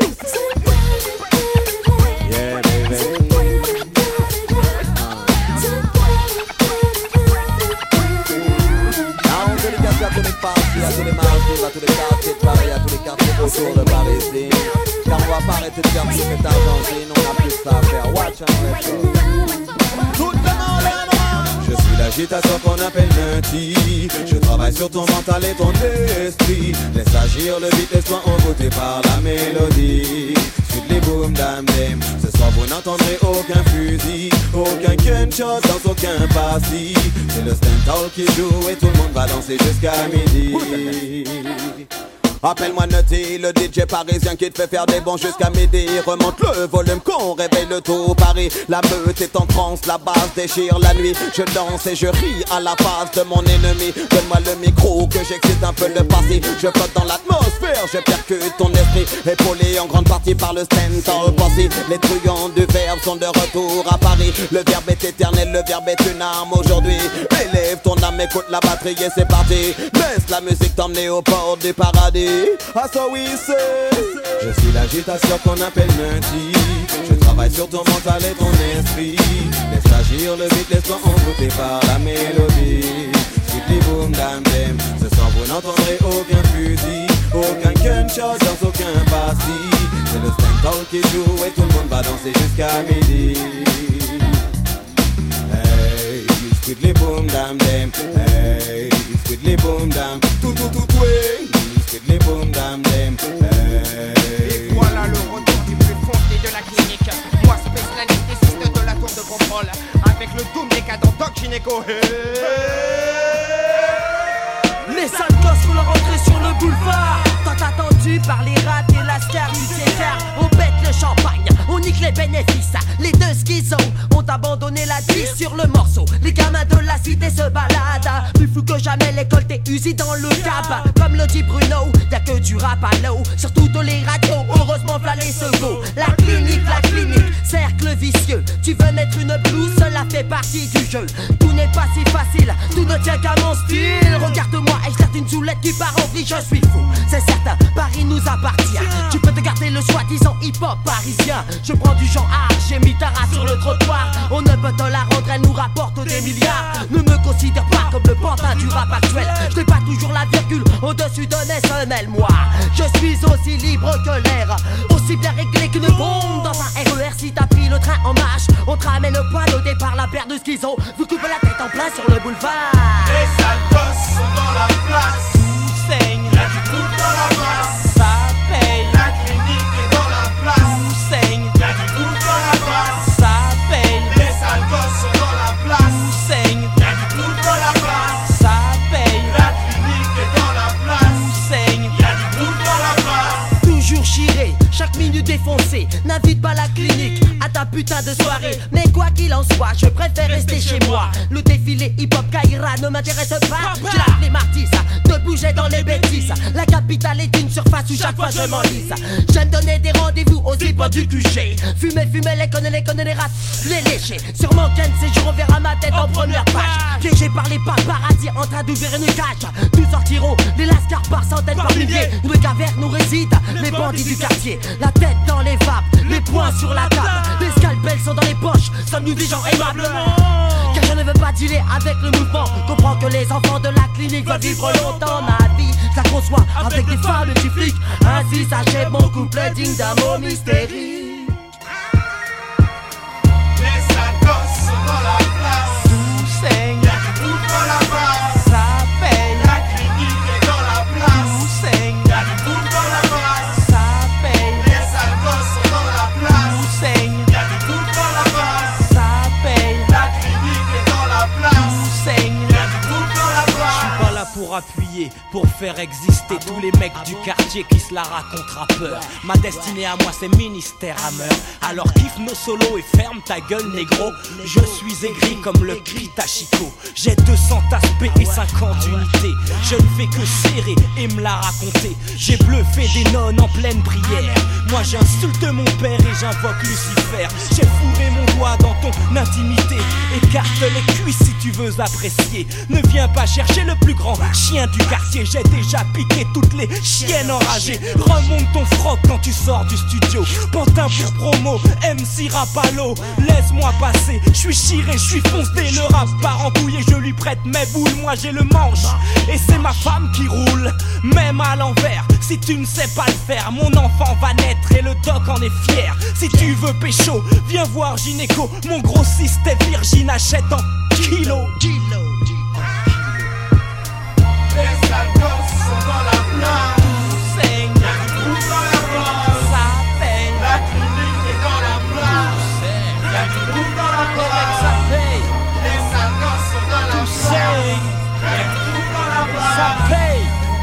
Yeah, baby. À tous les parties, à tous les marchés, à tous les quartiers de Paris, à tous les quartiers autour de Paris ici. Car on va pas arrêter de faire tout cet argentine, on a plus ça à faire. Watch and tout le monde est. Je suis l'agitation qu'on appelle lundi. Je travaille sur ton mental et ton esprit. Laisse agir le beat, laisse-toi envoûter par la mélodie. Suite les boom dam dem. Ce soir vous n'entendrez aucun fusil, aucun gunshot dans aucun passy. C'est le stand-all qui joue et tout le monde va danser jusqu'à midi. Appelle-moi Nutty, le D J parisien qui te fait faire des bons jusqu'à midi. Remonte le volume qu'on réveille le tout Paris. La meute est en transe, la basse déchire la nuit. Je danse et je ris à la face de mon ennemi. Donne-moi le micro que j'excite un peu le passé. Je flotte dans l'atmosphère, je percute ton esprit. Épaulé en grande partie par le stand-all passé. Les truands du verbe sont de retour à Paris. Le verbe est éternel, le verbe est une arme aujourd'hui. Élève ton âme, écoute la batterie et c'est parti. Laisse la musique t'emmener au port du paradis. Ah, so we say. Je suis l'agitation qu'on appelle lundi. Je travaille sur ton mental et ton esprit. Laisse agir le beat, laisse-toi envoûter par la mélodie. Suite boom dam dem. Ce soir vous n'entendrez aucun fusil, aucun gunshot dans aucun passy. C'est le stand-all qui joue et tout le monde va danser jusqu'à midi. Hey, sweetly boom dam dem. Hey, sweetly boom dam. Tout tout tout way. Les boom dam dem. Et voilà le retour du plus foncé de la clinique. Moi, Space, l'anesthésiste de la tour de contrôle. Avec le doom décadent Doc Gynéco. Hey. Les sales gosses font leur entrée sur le boulevard. Tant attendu par les rats et la star du César. On pète le champagne, on nique les bénéfices. Les deux schizos ont abandonné la vie sur le morceau. Les gamins de la cité se baladent. Plus fou que jamais, l'école t'est usée dans le cab. Comme le dit Bruno, y'a que du rap à l'eau. Sur toutes les radios, heureusement v'là les secours. La clinique, la clinique, cercle vicieux. Tu veux mettre une blouse, cela fait partie du jeu. Tout n'est pas si facile, tout ne tient qu'à mon style. Regarde-moi et je tarte une soulette qui part en vrille, je suis fou. C'est certain, Paris nous appartient. Tu peux te garder le soi-disant hip-hop parisien. Je prends du genre art, j'ai mis ta race sur le trottoir. On ne peut te la rendre, elle nous rapporte des milliards. Ne me considère pas comme le pantin du rap actuel. Je n'ai pas toujours la virgule au-dessus de mes semelles, moi. Je suis aussi libre que l'air, aussi bien réglé qu'une bombe dans un R E R. Si t'as pris le train en marche, on te ramène le poil au départ, la paire de schizo. Vous coupez la tête en plein sur le boulevard. Les sales gosses sont dans la place. Tout saigne, y'a du tout dans la place. Ça paye, la clinique est dans la place. Tout saigne, y'a du tout dans la place. Ça paye, les sales gosses sont dans la place. Tout saigne, y'a du tout dans la place. Ça paye, la clinique est dans la place. Tout saigne, y'a du tout dans la place. Toujours chiré, chaque minute défoncée. N'invite pas la clinique à ta putain de soirée. Mais quoi qu'il en soit, je préfère rester chez moi. Le défilé hip-hop Kaira ne m'intéresse pas. J'ai la flemme artiste de bouger dans les bêtises. La capitale est une surface où chaque fois je m'enlise. J'aime donner des rendez-vous aux hip-hop du Q G. Fumer, fumer, les connaît, les connaît, les rats, les lécher. Sur mon quai de séjour, on verra ma tête en première page. Piégé par les paparazzi en train d'ouvrir une cage. Nous sortirons les lascars par centaines, par milliers. Une caverne nous réside, les bandits du quartier. La tête dans les vapes, les poings sur la table. Les scalpels sont dans les poches, sommes-nous des gens aimablement. Car je ne veux pas dealer avec le mouvement. Comprends que les enfants de la clinique veulent vivre longtemps. Ma vie, je la conçois avec des femmes et des flics. Ainsi s'achève mon couplet digne d'un mot mystérique. Les sales gosses sont dans la place. Tout saigne, y'a du tout dans la place. Ça paye, la clinique est dans la place. Tout saigne, y'a du tout dans la place. Ça paye, les sales gosses sont dans la place. Tout saigne, y'a du tout dans la place. Ça paye, la clinique est dans la place. Tout saigne, y'a du tout dans la place. Je suis pas là pour pour appuyer, pour faire exister tous les mecs du quartier qui se la racontent rappeurs. Ma destinée à moi c'est ministère à meurtre. Alors kiffe nos solos et ferme ta gueule négro. Je suis aigri comme le Pitachiko. J'ai deux cents aspects et cinquante unités. Je ne fais que serrer et me la raconter. J'ai bluffé des nonnes en pleine prière. Moi j'insulte mon père et j'invoque Lucifer. J'ai fourré mon doigt dans ton intimité. Écarte les cuisses si tu veux apprécier. Ne viens pas chercher le plus grand chien du quartier. J'ai déjà piqué toutes les chiennes enragées. Remonte ton froc quand tu sors du studio. Pantin pour promo, M C Rapalo. Laisse-moi passer, je suis chiré, je suis foncé. Le rap part en couille et je lui prête mes boules. Moi j'ai le manche et c'est ma femme qui roule. Même à l'envers, si tu ne sais pas le faire, mon enfant va naître et le doc en est fier. Si tu veux pécho, viens voir gynéco. Mon grossiste est virgin, achète en kilo. Les sales gosses sont dans la place. Tout saigne, y'a du trou dans la place. Ça paye, la clinique est dans la place. Y'a du trou dans la place. Ça paye, les sales gosses sont dans la place. Y'a du trou dans la place. Ça paye.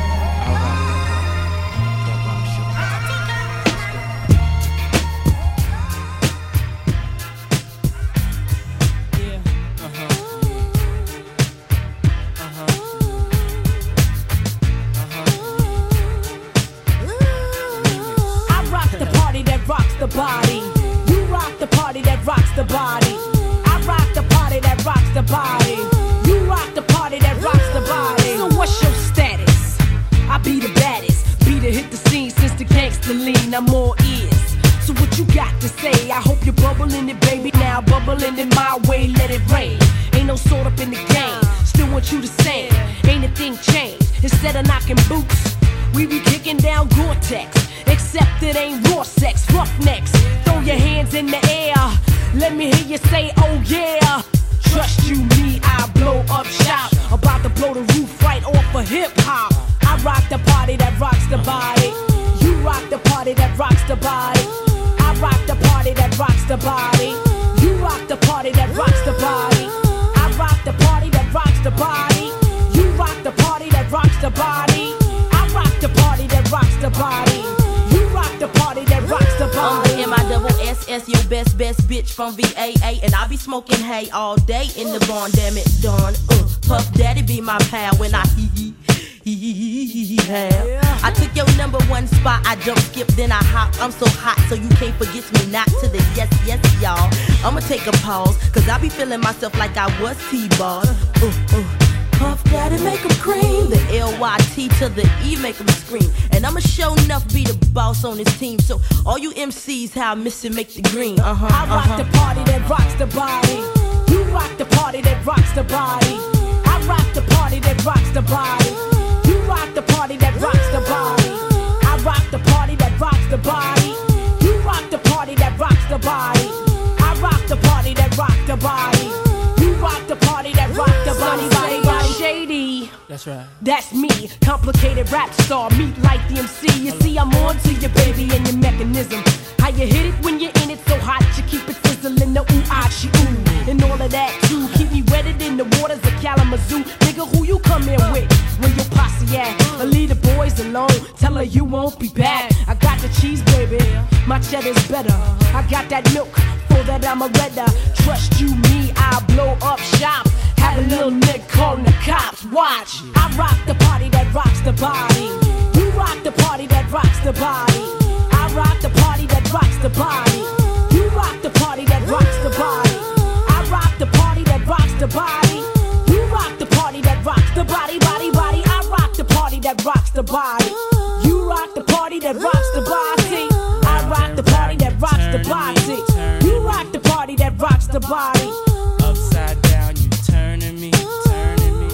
The body, you rock the party that rocks the body. I rock the party that rocks the body. You rock the party that rocks the body. So what's your status? I be the baddest, be the hit the scene since the gangster lean. I'm all ears. So what you got to say? I hope you're bubbling it, baby. Now bubbling in my way, let it rain. Ain't no sort up in the game. Still want you to sing. Ain't a thing changed. Instead of knocking boots, we be kicking down Gore-Tex. Except it ain't raw sex, roughnecks. Throw your hands in the air. Let me hear you say, oh yeah. Trust you, me, I blow up shop. About to blow the roof right off of hip hop. I rock the party that rocks the body. You rock the party that rocks the body. I rock the party that rocks the body. You rock the party that rocks the body. I rock the party that rocks the body. You rock the party that rocks the body. I rock the party that rocks the body. The party that rocks the body. I'm the M I double S S, your best, best bitch from V A A. And I be smoking hay all day in the barn, damn it, Dawn. Uh, Puff Daddy be my pal when I hee hee hee hee hee have. I took your number one spot, I jump, skip, then I hop. I'm so hot, so you can't forget me not to the yes, yes, y'all. I'ma take a pause, cause I be feeling myself like I was T-Boss. Uh, uh. Puff Daddy make 'em cream. The L Y T to the E make 'em scream. And I'ma show enough be the boss on this team. So all you M Cs, how I miss it, make the green. Uh-huh, I rock uh-huh. the party that rocks the body. You rock the party that rocks the body. I rock the party that rocks the body. You rock the party that rocks the body. I rock the party that rocks the body. You rock the party that rocks the body. I rock the party that rocks the body. You rock the party that rocks the body. Body, body. Shady. That's right. That's me, complicated rap star, meet like the M C. You see, I'm on to your baby and your mechanism. How you hit it when you're in it so hot, you keep it sizzling, the ooh, ah, she ooh. And all of that too, keep me wetted in the waters of Kalamazoo. Nigga, who you come in with? When your posse at? Or leave the boys alone, tell her you won't be back. I got the cheese, baby, my cheddar's better. I got that milk, for that I'm a redder. Trust you, me, I'll blow up shop. Have a little nigga calling the cops, watch. I rock the party that rocks the body. You rock the party that rocks the body. I rock the party that rocks the body. You rock the party that rocks the body. I rock the party that rocks the body. You rock the party that rocks the body, body, body. I rock the party that rocks the body. You rock the party that rocks the body. I rock the party that rocks the body. You rock the party that rocks the body. Upside down, you turning me, turning me.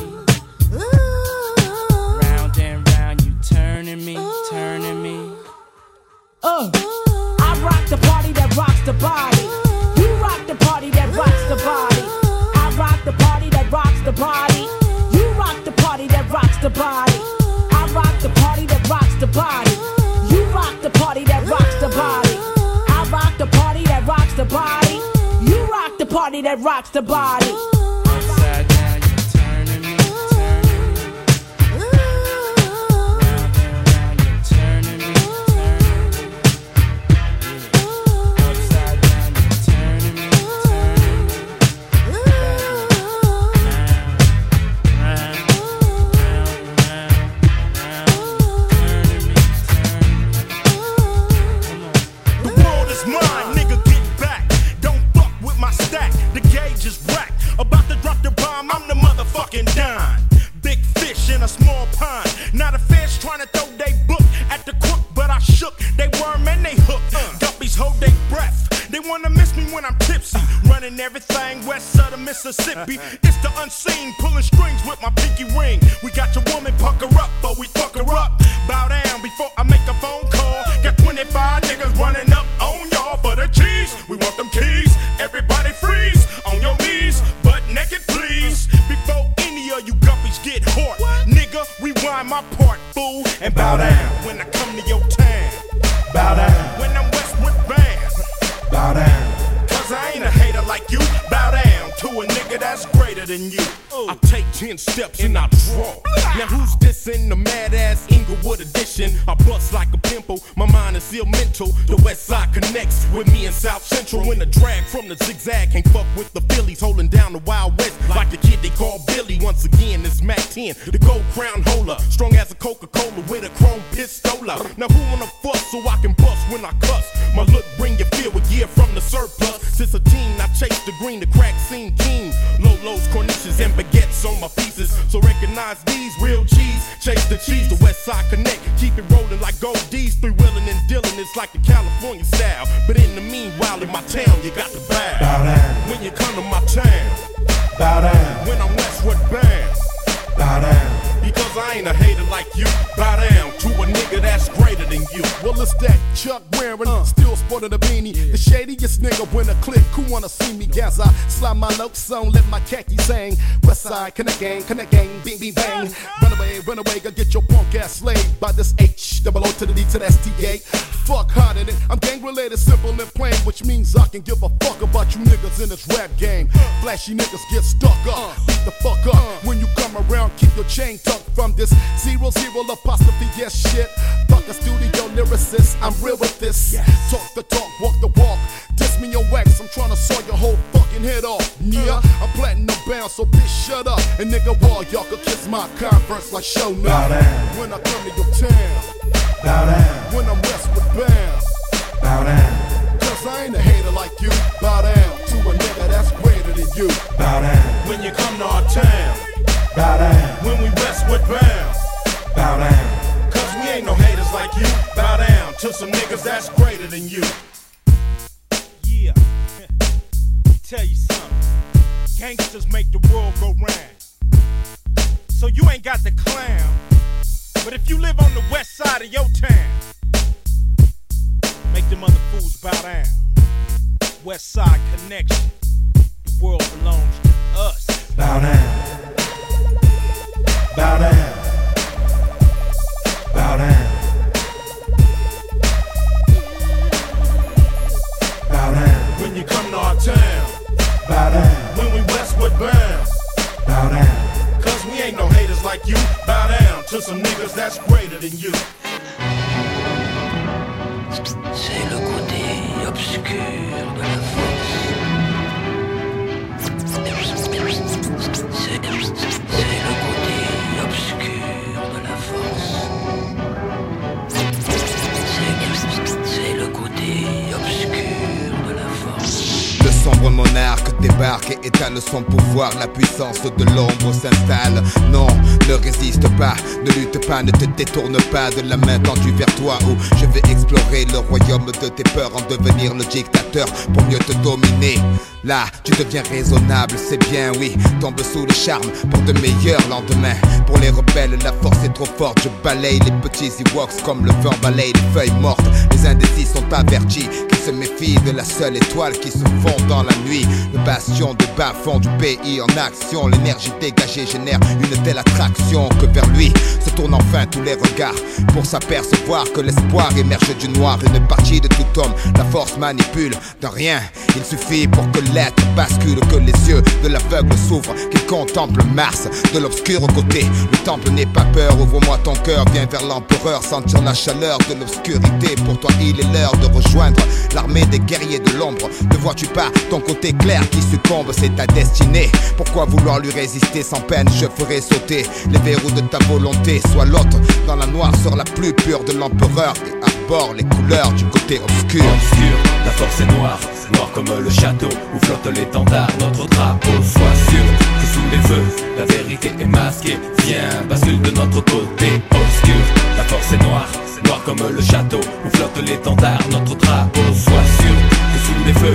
Round and round, you turning me, turning me. Uh, I rock the party that rocks the body. You rock the party that rocks the body. I rock the party that rocks the body. You rock the party that rocks the body. I rock the party that rocks the body. You rock the party that rocks the body. I rock the party that rocks the body. You rock the party that rocks the body. Upside down, you turning me, turning me. Mississippi. It's the unseen, pulling strings with my pinky ring. We got your woman pucker up, but we fuck her up. Bow down before I make a phone call. Got twenty-five niggas running up on y'all for the keys. We want them keys. Everybody freeze on your knees, butt naked please. Before any of you guppies get hot, nigga, rewind my part, fool, and bow down when I come to your town. Bow down when I'm Westwood Band. Bow down, cause I ain't a hater like you. Bow down to a nigga that's greater than you. I take ten steps and I draw. Now who's this in the mad ass Inglewood edition? I bust like a pimple, my mind is still mental. The West Side connects with me in South Central. When the drag from the zigzag can't fuck with the Phillies, holding down the Wild West like the kid they call Billy. Once again, it's Mac ten, the gold crown holder, strong as a Coca-Cola with a chrome pistola. Now who wanna fuss so I can bust when I cuss? My look bring you feel a year from the surplus. Since a teen, I chase the green, the crack scene king. Lolos, corniches, and baguettes on my pieces. So recognize these real G's. Chase the cheese, the West Side Connect. Keep it rolling like gold D's. Three wheeling and dealing, it's like the California style. But in the meanwhile, in my town, you got to bow. Bow down. When you come to my town. Bow down. When I'm Westwood Band. Bow down. Because I ain't a hater like you. Bow down to a nigga that's greater than you. Well, it's that Chuck wearing, uh. still sporting a beanie. Yeah. The shadiest nigga when a click, who wanna see me? Gas, I slide my lopes on, let my khakis hang. West Side, connect gang, connect gang, bing, bing, bang. Run away, run away, go get your punk ass slayed by this H, double O to the D to the S T A. Fuck harder than I'm gang related, simple and plain, which means I can give a fuck about you niggas in this rap game. Flashy niggas get stuck up, beat the fuck up. When you come around, keep your chain tucked from this zero zero apostrophe yes shit. Fuck a studio lyricist, I'm real with this. Yes. Talk the talk, walk the walk. Diss me your wax, I'm tryna saw your whole fucking head off. Yeah, I'm platinum bound, so bitch shut up. And nigga, wall y'all could kiss my converse like show now. When I come to your town, bow down. When I'm Westwood Bound, bow down. Cause I ain't a hater like you. Bow down to a nigga that's greater than you. Bow down. When you come to our town. Bow down. When we Westwood Bound. Bow down. Cause we ain't no haters like you. Bow down to some niggas that's greater than you. Yeah. Tell you something. Gangsters make the world go round. So you ain't got the clown. But if you live on the west side of your town, make them other fools bow down. West Side Connection. The world belongs to us. Bow down. Bow down. Bow down. Bow down. When you come to our town. Bow down. When we Westwood Bound. Bow down. Cause we ain't no haters like you. Bow down to some niggas that's greater than you. C'est le côté obscur de la force. C'est le côté obscur de la force. C'est le côté obscur de la force. Le sombre monarque débarque et étale son pouvoir. La puissance de l'ombre s'installe. Non, ne résiste pas, ne lutte pas, ne te détourne pas de la main tendue vers toi. Où je vais explorer le royaume de tes peurs, en devenir le dictateur pour mieux te dominer. Là, tu deviens raisonnable, c'est bien, oui. Tombe sous le charme pour de meilleurs lendemains. Pour les rebelles, la force est trop forte. Je balaye les petits Ewoks comme le vent balaye les feuilles mortes. Les indécis sont avertis qu'ils se méfient de la seule étoile qui se fond dans la nuit. Le bastion de bas-fond du pays en action. L'énergie dégagée génère une telle attraction que vers lui se tournent enfin tous les regards pour s'apercevoir que l'espoir émerge du noir. Une partie de tout homme, la force manipule de rien. Il suffit pour que l'être bascule, que les yeux de l'aveugle s'ouvrent, qu'il contemple Mars de l'obscur côté. Le temple n'est pas peur, ouvre-moi ton cœur, viens vers l'empereur, sentir la chaleur de l'obscurité. Pour toi il est l'heure de rejoindre l'armée des guerriers de l'ombre. Ne vois-tu pas ton côté clair qui succombe, c'est ta destinée. Pourquoi vouloir lui résister sans peine? Je ferai sauter les verrous de ta volonté. Sois l'autre dans la noirceur la plus pure de l'empereur et arbore les couleurs du côté obscur. Obscur, la force est noire, noire comme le château où flotte l'étendard, notre drapeau. Sois sûr que sous les feux, la vérité est masquée. Viens, bascule de notre côté. Obscur, la force est noire, noire comme le château où flotte l'étendard, notre drapeau. Sois sûr que sous les feux, la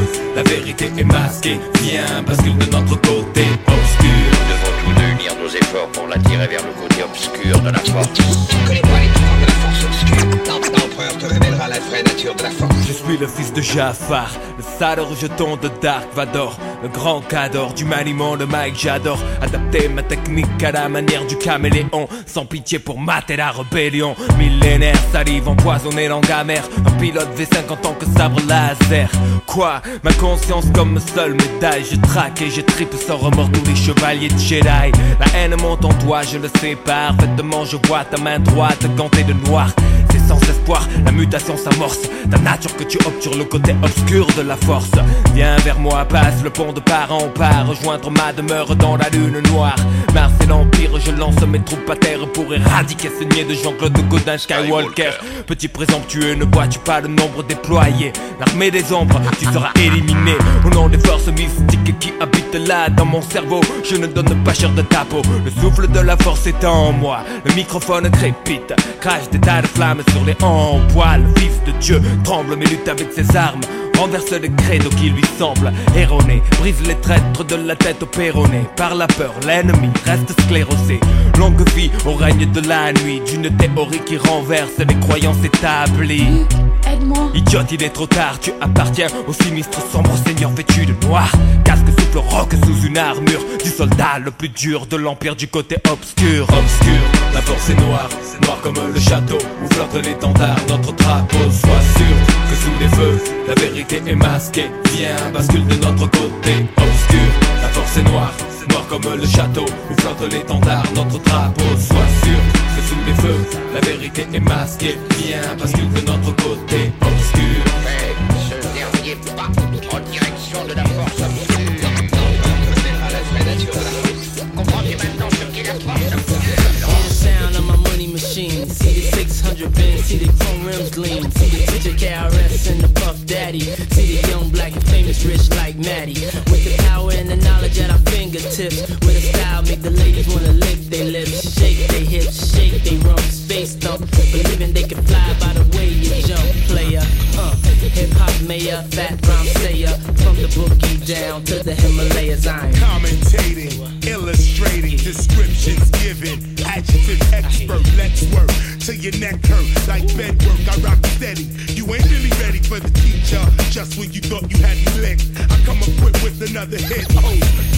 la vérité est masquée. Viens, bascule de notre côté obscur. Nous devons tous deux unir nos efforts pour l'attirer vers le côté obscur de la force. Tu ne connais pas les pouvoirs de la force obscure. L'empereur te révélera la vraie nature de la force. Je suis le fils de Jafar, le sale rejeton de Dark Vador, le grand cador du maniement de Mike. J'adore adapter ma technique à la manière du caméléon, sans pitié pour mater la rébellion. Millénaire, salive empoisonnée, langue amère, un pilote V cinq en tant que sabre laser. Quoi, ma conscience comme seule médaille. Je traque et je tripe sans remords tous les chevaliers de Jedi. La haine monte en toi, je le sais parfaitement. Je vois ta main droite gantée de noir. C'est sans espoir, la mutation s'amorce. Ta nature que tu optes sur le côté obscur de la force. Viens vers moi, passe le pont de part en part, rejoindre ma demeure dans la lune noire. Mars et l'Empire, je lance mes troupes à terre pour éradiquer ce niais de Jean-Claude Godin Skywalker. Petit présomptueux, ne vois-tu pas le nombre déployé? L'armée des ombres, tu seras éliminé. Au nom des forces mystiques qui habitent là dans mon cerveau, je ne donne pas cher de ta peau. Le souffle de la force est en moi, le microphone crépite, crache des tas de flammes sur les en poil. Fils de Dieu tremble mais lutte avec ses armes, renverse les credos qui lui semblent erronés, brise les traîtres de la tête au péroné. Par la peur, l'ennemi reste sclérosé. Longue vie au règne de la nuit, d'une théorie qui renverse les croyances établies. Aide-moi. Idiote, il est trop tard, tu appartiens au sinistre sombre seigneur vêtu de noir. Casque souffle roc sous une armure du soldat le plus dur de l'empire du côté obscur. Obscur, la force est noire, noire comme le château où flotte l'étendard, notre drapeau. Sois sûr que sous les feux, la vérité est masquée. Viens, bascule de notre côté obscur. La force est noire, noire comme le château où flotte l'étendard, notre drapeau. Sois sûr que sous les feux, la vérité est masquée. Viens, bascule de notre côté obscur. Fais ce dernier pas en direction de la force obscure. L'empereur te révélera la vraie nature de la force. Comprends-tu maintenant ce qu'est la force obscure? Sound of my money machine. See the six hundred bins, see the chrome rims gleam. See the teacher K R S and the Puff Daddy. See the young black and famous rich like Maddie. With the power and the knowledge at our fingertips. With a style make the ladies wanna lick their lips. Shake their hips, shake their rumps. Face thump, believing they can fly by the way you jump. Player, uh, hip hop mayor, fat rhyme sayer. From the boogie down to the Himalayas, I'm commentating, illustrating, descriptions given, adjective expert, let's work till your neck hurt like bed work. I rock steady. You ain't really ready for the teacher. Just when you thought you had me licked, I come equipped with another hit. Oh.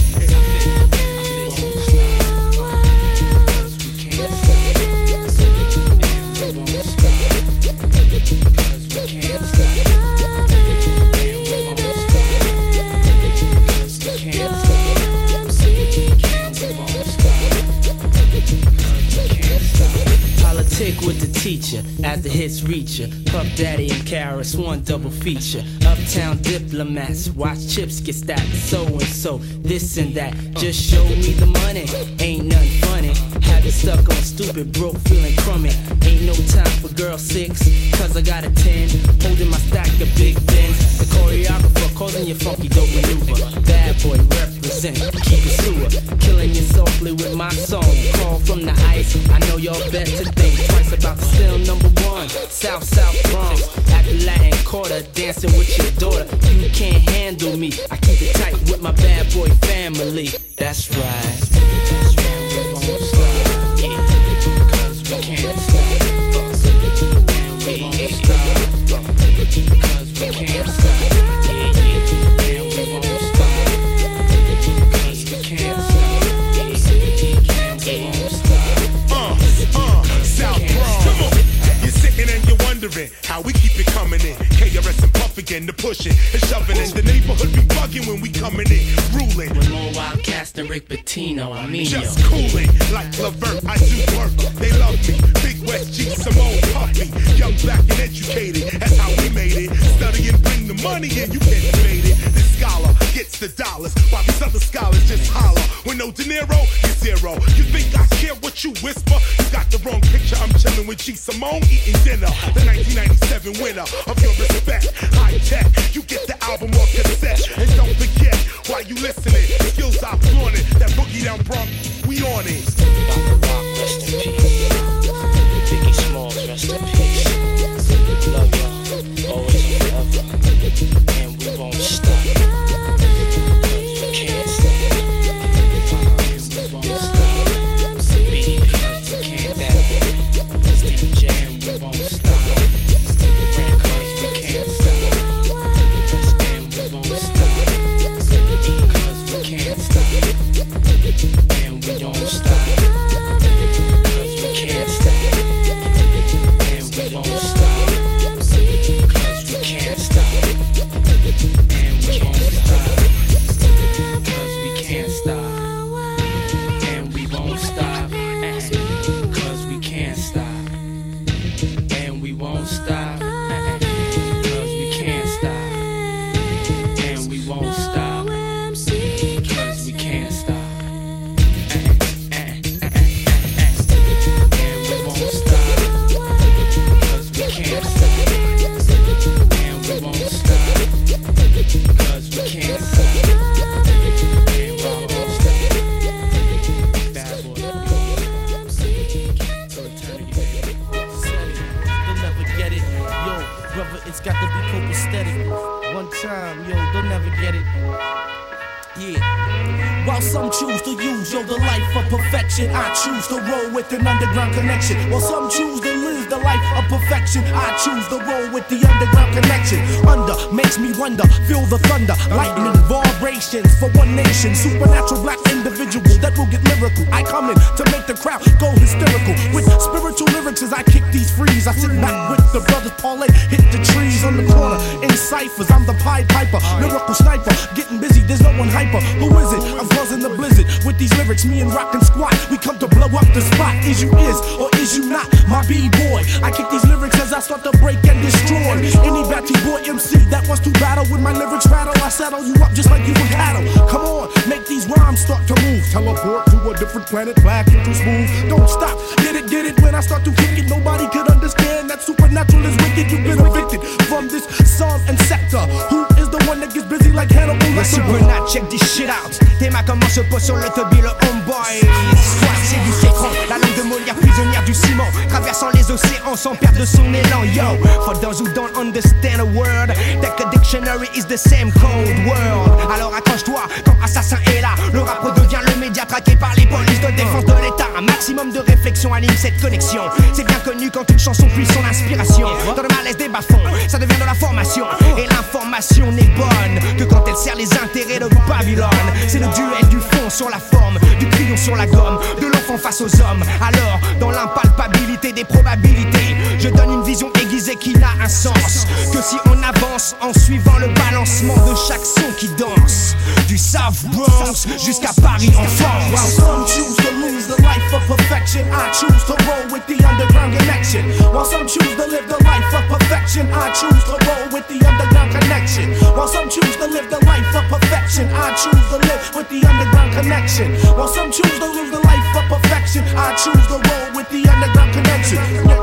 Politic with the teacher, as the hits reach ya. Puff Daddy and Karis, one double feature. Uptown diplomats, watch chips get stacked. So and so, this and that. Just show me the money, ain't nothing funny. Have you stuck on stupid, broke, feeling crummy. Ain't no time for girl six, cause I got a ten. Holding my stack of big bins. The choreographer causing your funky dope maneuver. Bad boy represent, keep it sewer. Killing you softly with my song. Call from the ice, I know y'all bet to think twice about the still number one. South, South Bronx, at the Latin Quarter, dancing with your daughter. You can't handle me, I keep it tight with my bad boy family. That's right. That's right, we won't stop. Yeah, cause we can't stop. And we won't stop. Cause we can't stop. Yeah, yeah, and we won't stop. Cause we can't stop. Yeah, and we won't stop. Uh, uh, South Bronx. Come on. You're sitting and you're wondering how we keep it coming in. K R S and Puff again, the pushing and shoving in. The neighborhood be bugging when we coming in, ruling. With more Wildcats than Rick Pitino, I mean just cooling like Levert, I do work. They love me. Big West G, Simone, Puffy. Young, black, and educated. That's how we made it. Study and bring the money in, you can't debate it. This scholar gets the dollars, while these other scholars just holler. With no De Niro, you're zero. You think I care what you whisper? You got the wrong picture. I'm chilling with G, Simone, eating dinner. The nineteen ninety-seven winner of your respect. High tech, you get the album off cassette. And don't forget, while you listening, the skills I flaunted. That boogie down Bronx, we on it. Rest in peace. Biggie Smalls, rest in peace. Love y'all, always and forever. And we won't stop. never get it. Yeah. While some choose to use, yo, the life of perfection, I choose to roll with an underground connection. While some choose to live the life of perfection, I choose to roll with the underground connection. Under makes me wonder, feel the thunder, lightning, vibrations for one nation. Supernatural black individual that will get lyrical. I come in to make the crowd go hysterical. With spiritual lyrics as I kick these frees, I sit back with the brothers parlay, hit the trees on the corner in ciphers. I'm the Pied Piper, lyrical sniper, getting busy. There's no one hyper. Who is it? I'm causing the blizzard with these lyrics. Me and Rock and Squat, we come to blow up the spot. Is you is or is you not my B-boy? I kick these lyrics as I start to break and destroy any batty boy M C that wants to battle with my lyrics rattle. I saddle you up just like you were cattle. Come on, make these rhymes start to move. Teleport to a different planet, black and too smooth. Don't stop, get it, get it. When I start to kick it, nobody could understand that supernatural is wicked. You've been evicted from this song and sector. Who is the one that gets busy like Hannibal? Le Supernat, check this shit out. Tes mains comment se posent sur le tubby, le homeboy. Soit c'est du citron, la langue de Molière prisonnière du ciment, traversant les océans sans perdre son élan. Yo, for those who don't understand a word, that the dictionary is the same code word. Alors accroche-toi quand Assassin est là. Le rap redevient le média traqué par les polices de défense de l'État. Un maximum de réflexion anime cette connexion. C'est bien connu quand une chanson puise son inspiration. Dans le malaise des bas-fonds, ça devient de la formation. Et l'information n'est bonne que quand elle sert les intérêts de Babylone. C'est le duel du fond sur la forme, du crayon sur la gomme, de l'enfant face aux hommes. Alors, dans l'impalpabilité des probabilités, je donne une vision aiguisée qui n'a un sens que si on avance en suivant le balancement de chaque son qui danse. Du South Bronx jusqu'à Paris en France. While some choose to lose the life of perfection, I choose to roll with the underground connection. While some choose to live the life of perfection, I choose to roll with the underground connection. While some choose to live the life of perfection, I choose to live with the underground connection. While some choose to live the life of perfection, I choose to roll with the underground connection.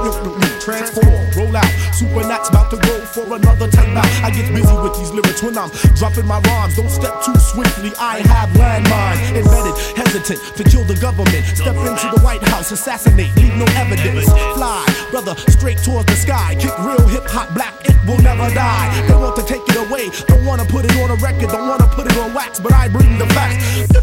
Transform, roll out, Supernat's about to go for another time out. I get busy with these lyrics when I'm dropping my rhymes. Don't step too swiftly, I have landmines embedded, hesitant to kill the government. Step into the White House, assassinate, leave no evidence. Fly, brother, straight towards the sky. Kick real hip-hop black, it will never die. They want to take it away, don't wanna put it on a record, don't wanna put it on wax, but I bring the facts.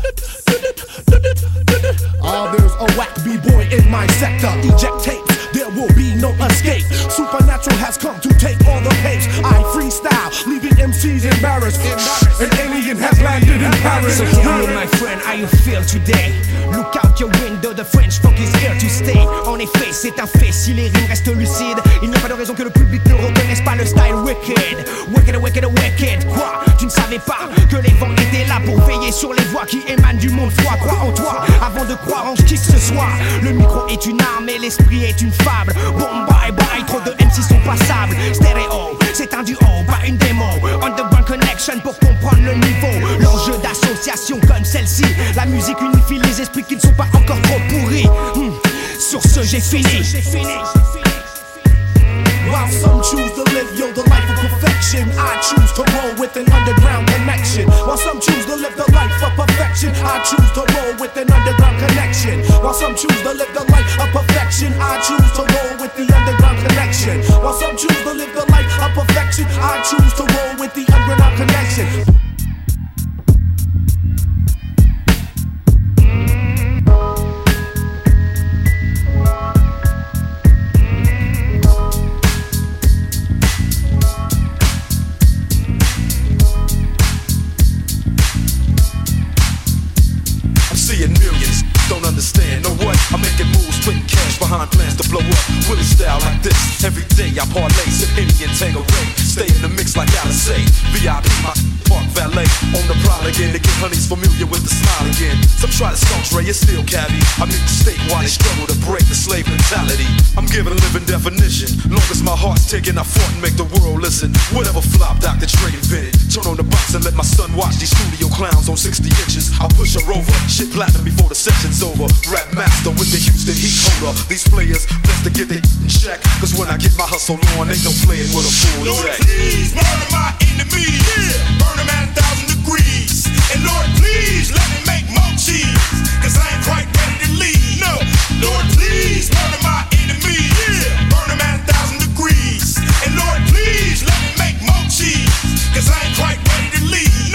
Ah, there's a whack B-boy in my sector. Eject tapes, there will be no escape. Supernatural has come to take all the pace. I freestyle, leaving M Cs embarrassed. An alien has landed in Paris. So tell me, my friend, how you feel today? Look out your window, the French funk is here to stay. En effet, c'est un fait, si les rimes restent lucides, il n'y a pas de raison que le public ne reconnaisse pas le style wicked. Wicked, wicked, wicked. Quoi? Tu ne savais pas que les vents étaient là pour veiller sur les voix qui émanent du monde froid. Crois en toi avant de croire en qui que ce soit. Le micro est une arme et l'esprit est une fable. Bon bye bye, trop de M C sont passables. Stéréo, c'est un duo, pas une démo. Underground connection pour comprendre le niveau. L'enjeu d'association comme celle-ci. La musique unifie les esprits qui ne sont pas encore trop pourris. hmm. Sur ce j'ai fini. While some choose to live, yo, the life of perfection, I choose to roll with an underground connection. While some choose to live the life of perfection, I choose to roll with an underground connection. While some choose to live the life of perfection, I choose to roll with the underground connection. While some choose to live the life of perfection, I choose to roll with the underground connection. Don't understand, know what? I'm making moves, putting cash behind plans to blow up. Willie style like this. Every day I parlay, sip Indian Tangeray. Stay in the mix like Alice. V I P, my park valet. On the prowl again to get honeys familiar with the smile again. Some try to skunks, Ray, it's still cabbie. I meet the state while they struggle to break the slave mentality. I'm giving a living definition. Long as my heart's ticking, I fought and make the world listen. Whatever flop Doctor Dre invented. Turn on the box and let my son watch these studio clowns on sixty inches. I'll push her over. Shit platinum before the session's over. Rap master with the Houston heat holder. These players best to get their in check. Cause when I get my hustle on, ain't no playing with a full Lord, deck. please murder my enemies. Yeah. Burn them at a thousand degrees. And Lord, please let me make more cheese. Cause I ain't quite ready to leave. No. Lord, please murder my enemies. Yeah. Burn them at a thousand degrees. And Lord, please let me make more cheese. Cause I ain't quite ready to leave.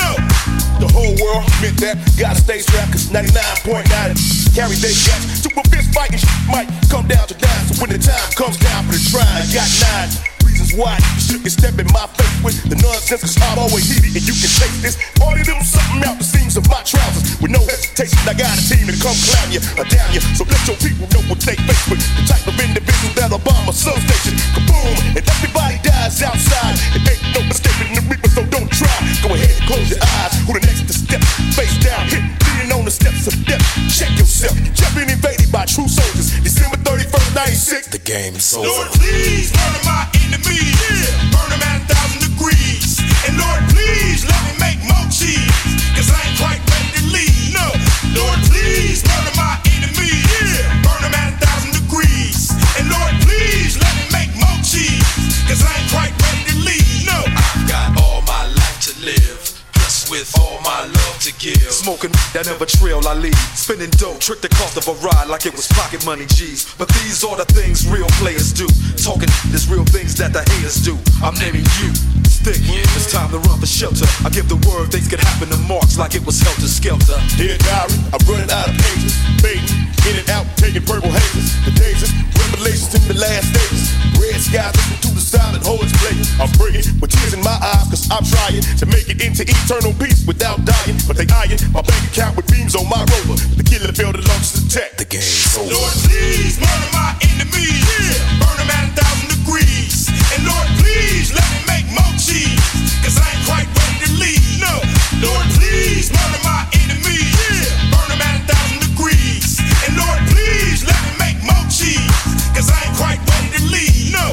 ninety-nine point nine. Carry their guts to a fist fight and shit might come down to dime. So when the time comes down for the try, I got nine reasons why you shouldn't step in my face with the nonsense, cause I'm always heated and you can take this. All of them something out the seams of my trousers with no hesitation. I got a team to come clown you or down you. So let your people know what they face with. The type of individual that'll bomb a substation. Kaboom! And everybody dies outside. It ain't no escaping the reaper, so don't try. Go ahead and close your eyes. Who the next to step? Face down, hit, leaning on the steps of death. Check yourself. You've been invaded by true soldiers. December thirty-first, ninety-six. The game's over. Lord, please murder my enemies. Yeah. Burn them at a thousand degrees. And Lord, please let me make more cheese. Cause I ain't quite ready to leave. No. Lord, please murder my enemies. Yeah. Burn them at a thousand degrees. And Lord, please let me make more cheese. Cause I ain't quite ready to leave. No. I've got all my life to live. With all my love to give. Smoking that never trail I lead. Spending dough, trick the cost of a ride like it was pocket money G's. But these are the things real players do. Talking there's real things that the haters do. I'm naming you. Stick, it's time to run for shelter. I give the word things could happen to marks like it was helter skelter. Dear diary, I'm running out of pages. Fading, in and out, taking purple hazes. The dazes, revelations in the last stages. Red skies, listen to the silent hordes play. I'm bringing with tears in my eyes, cause I'm trying to make it into eternal peace without dying. But they eyeing my bank account with beams on my rover. The killer failed to launch the tech. The game's over. Lord, please murder my enemies. Yeah. Burn them at a thousand degrees. And Lord, please let me make more cheese. Cause I ain't quite ready to leave. No. Lord, please murder my enemies. Yeah. Burn them at a thousand degrees. And Lord, please let me make more cheese. Cause I ain't quite ready to leave. No.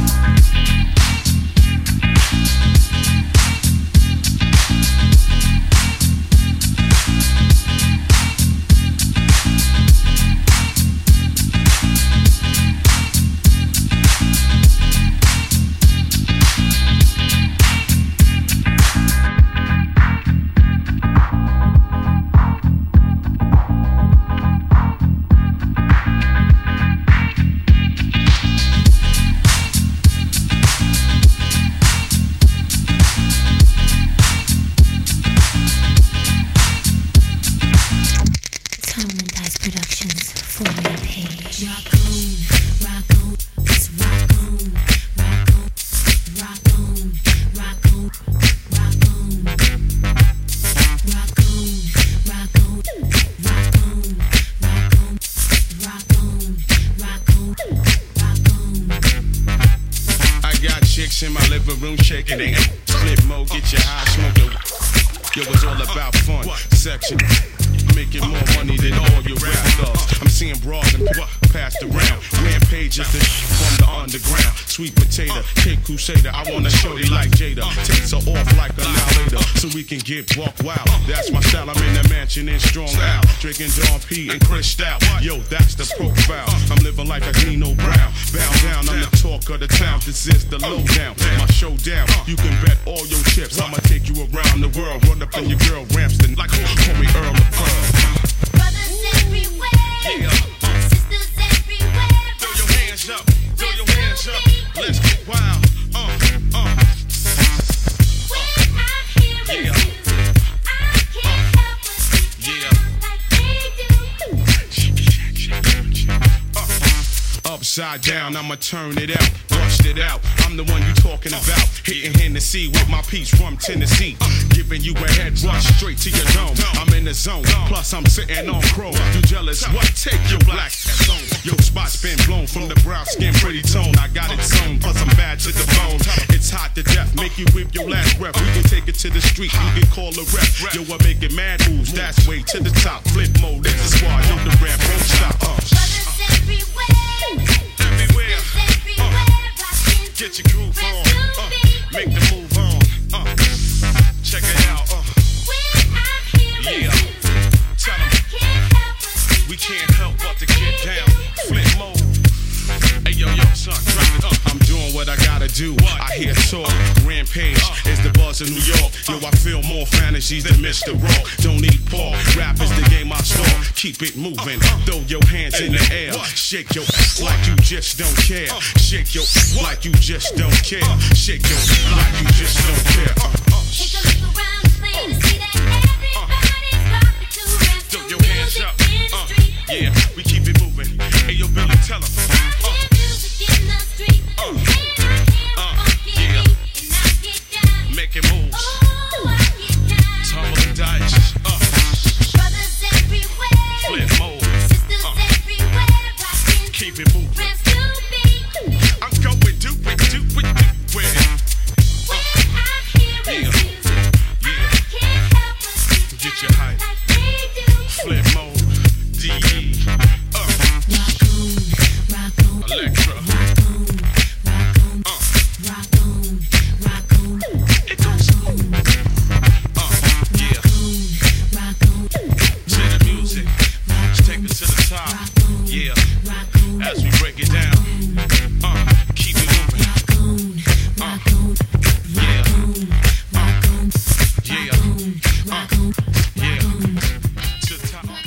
In my living room shaking, they ain't split mode, get your high smoking. Yo, it's all about fun, section, making more money than all your rap thugs. I'm seeing broads and passed around, rampages from the underground. Sweet potato, cake crusader, I wanna show you like Jada. Takes her off like a now later, so we can get buck wild. That's my style, I'm in the mansion in Strong Out, drinking Dawn P and Chris Stout. Yo, that's the profile, I'm living like a Nino Brown. Bow down, I'm the talk of the town, this is the lowdown. My showdown, you can bet all your chips, I'ma take you around the world. Run up in your girl Ramston, like call me Earl of Pearl. Brothers everywhere, yeah. Sisters everywhere. Throw your hands up, throw your hands up. Let's get wild. Uh, uh. When I hear it, Yeah. I can't help but see Yeah. like they do. Uh. Upside down, I'ma turn it out, bust it out. I'm the one you talking about. Hitting Hennessy with my piece from Tennessee. Giving you a head rush straight to your dome. I'm in the zone, plus I'm sitting on chrome. You jealous? What? Take your black zone. Your spot's been blown from the brown skin, pretty tone. I got it sewn, plus I'm bad to the bone. It's hot to death, make you whip your last breath. We can take it to the street, you can call a rep. Yo, I'm making mad moves, that's way to the top. Flip mode, this is why yo, the rap won't stop. Uh. Brothers everywhere, Everywhere, everywhere. uh, get your groove on, uh, make the move on, uh, check it out, uh, yeah, tell them, we can't help but to get down, flip mode, hey yo yo son, drop it up, I'm doing what I gotta do, I hear talk, rampage, is the buzz in New York, yo I feel more fantasies than Mister Rock, don't need Paul, rap is the game I start, keep it moving, throw your hands in the air, shake your ass like you just don't care, shake your ass like you just don't care, shake your ass like you just don't care, uh, uh. Take a look around the plane to see that everybody's rocking to rap. Throw your hands hands up. Uh, yeah, we keep it moving. Hey, yo, Billy, tell 'em. Uh, uh, uh, yeah. Making moves. Tumble and dice. Uh, flip mode. Uh, keep it moving. I'm going do it, do it, do it. Uh, yeah. Get your hype. Flip mode. D E. Uh. Electra. Uh. It goes. Uh. Yeah. To the music. Let's take it to the top. Yeah. As we break it down. Uh. Keep it moving. Uh. Yeah. Uh. Yeah. Uh. Yeah. To the top.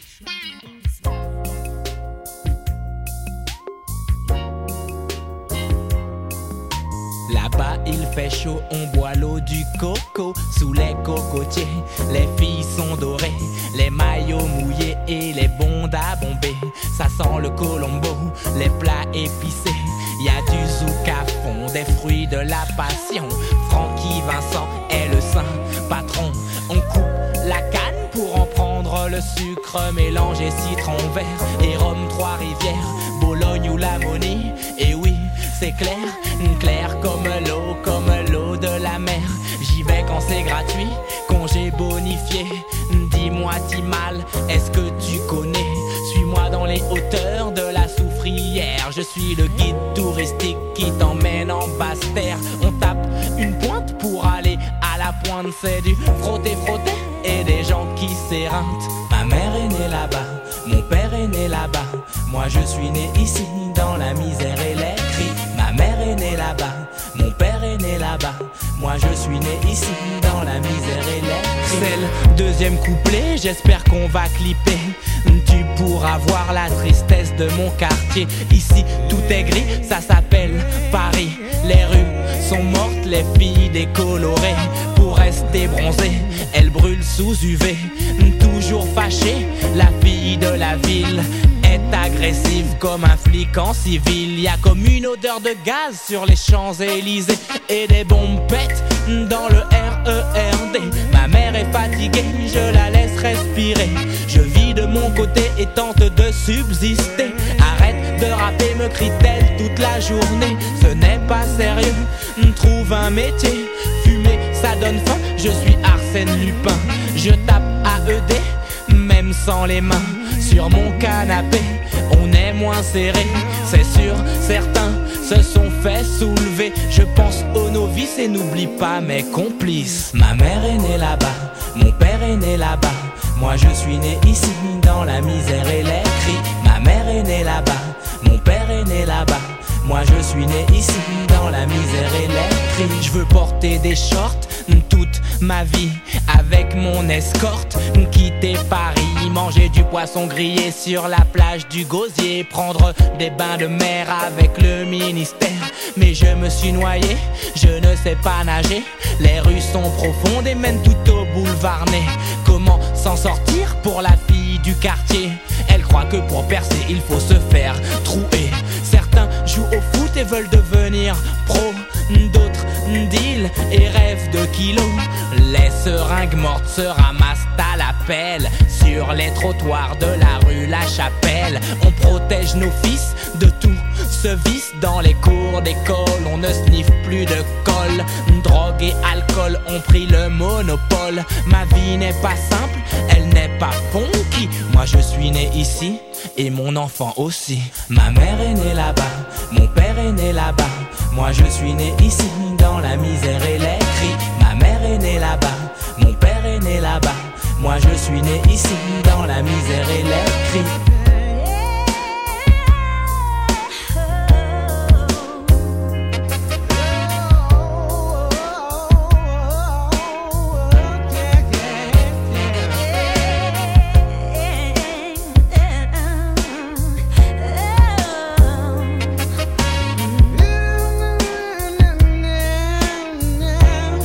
Là-bas il fait chaud, on boit l'eau du coco sous les cocotiers. Les filles sont dorées, les maillots mouillés et les bondes à bomber. Ça sent le colombo, les plats épicés. Y a du zouk à fond, des fruits de la passion. Francky Vincent est le saint patron. On coupe la canne pour en prendre le sucre, mélanger citron vert et rhum Trois-Rivières, Bologne ou Lamonie. Et oui, c'est clair, clair comme l'eau, comme l'eau de la mer. J'y vais quand c'est gratuit, congé bonifié. Dis-moi Timal, est-ce que tu connais? Suis-moi dans les hauteurs de la Soufrière. Je suis le guide touristique qui t'emmène en basse terre. On tape une pointe pour aller à la pointe. C'est du frotter-frotter et des gens qui s'éreintent. Ma mère est née là-bas, mon père est né là-bas. Moi je suis né ici dans la misère et les cris. Ma mère est née là-bas, mon père est né là-bas. Moi je suis né ici dans la misère et les cris. C'est le deuxième couplet, j'espère qu'on va clipper. Tu pourras voir la tristesse de mon quartier. Ici tout est gris, ça s'appelle Paris. Les rues sont mortes, les filles décolorées. Pour rester bronzées, elles brûlent sous U V. Toujours fâchée, la fille de la ville est agressive comme un flic en civil. Y a comme une odeur de gaz sur les Champs-Élysées et des bombes pètent dans le R E R D. Ma mère est fatiguée, je la laisse respirer. Je vis de mon côté et tente de subsister. Arrête de rapper, me crie-t-elle toute la journée. Ce n'est pas sérieux, trouve un métier. Fumer, ça donne faim, je suis Arsène Lupin. Je tape A E D, même sans les mains. Sur mon canapé, on est moins serré. C'est sûr, certains se sont fait soulever. Je pense aux novices et n'oublie pas mes complices. Ma mère est née là-bas, mon père est né là-bas. Moi je suis né ici dans la misère et les cris. Ma mère est née là-bas, mon père est né là-bas. Moi je suis né ici dans la misère et les cris. Je veux porter des shorts toute ma vie avec mon escorte, quitter Paris, manger du poisson grillé sur la plage du Gosier, prendre des bains de mer avec le ministère. Mais je me suis noyé, je ne sais pas nager. Les rues sont profondes et mènent tout au boulevard Ney. Comment s'en sortir pour la fille du quartier? Elle croit que pour percer il faut se faire trouer. Certains jouent au foot et veulent devenir pro. D'autres deal et rêvent de kilos. Les seringues mortes se ramassent à la pelle sur les trottoirs de la rue La Chapelle. On protège nos fils de tout ce vice. Dans les cours d'école on ne sniffe plus de colle. Drogue et alcool ont pris le monopole. Ma vie n'est pas simple, elle n'est pas funky. Moi je suis né ici et mon enfant aussi. Ma mère est née là-bas, mon père est né là-bas. Moi je suis né ici dans la misère et les cris. Ma mère est née là-bas, mon père est né là-bas. Moi je suis né ici dans la misère et les cris.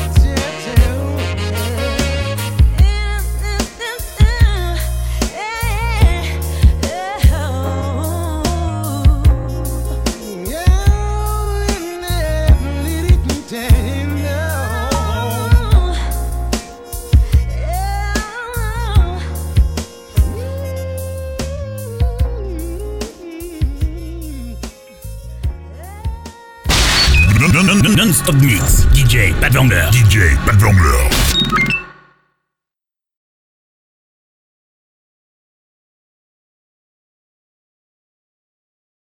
Yeah. Non-stop mix. D J Pat Vangler. D J Pat Vangler.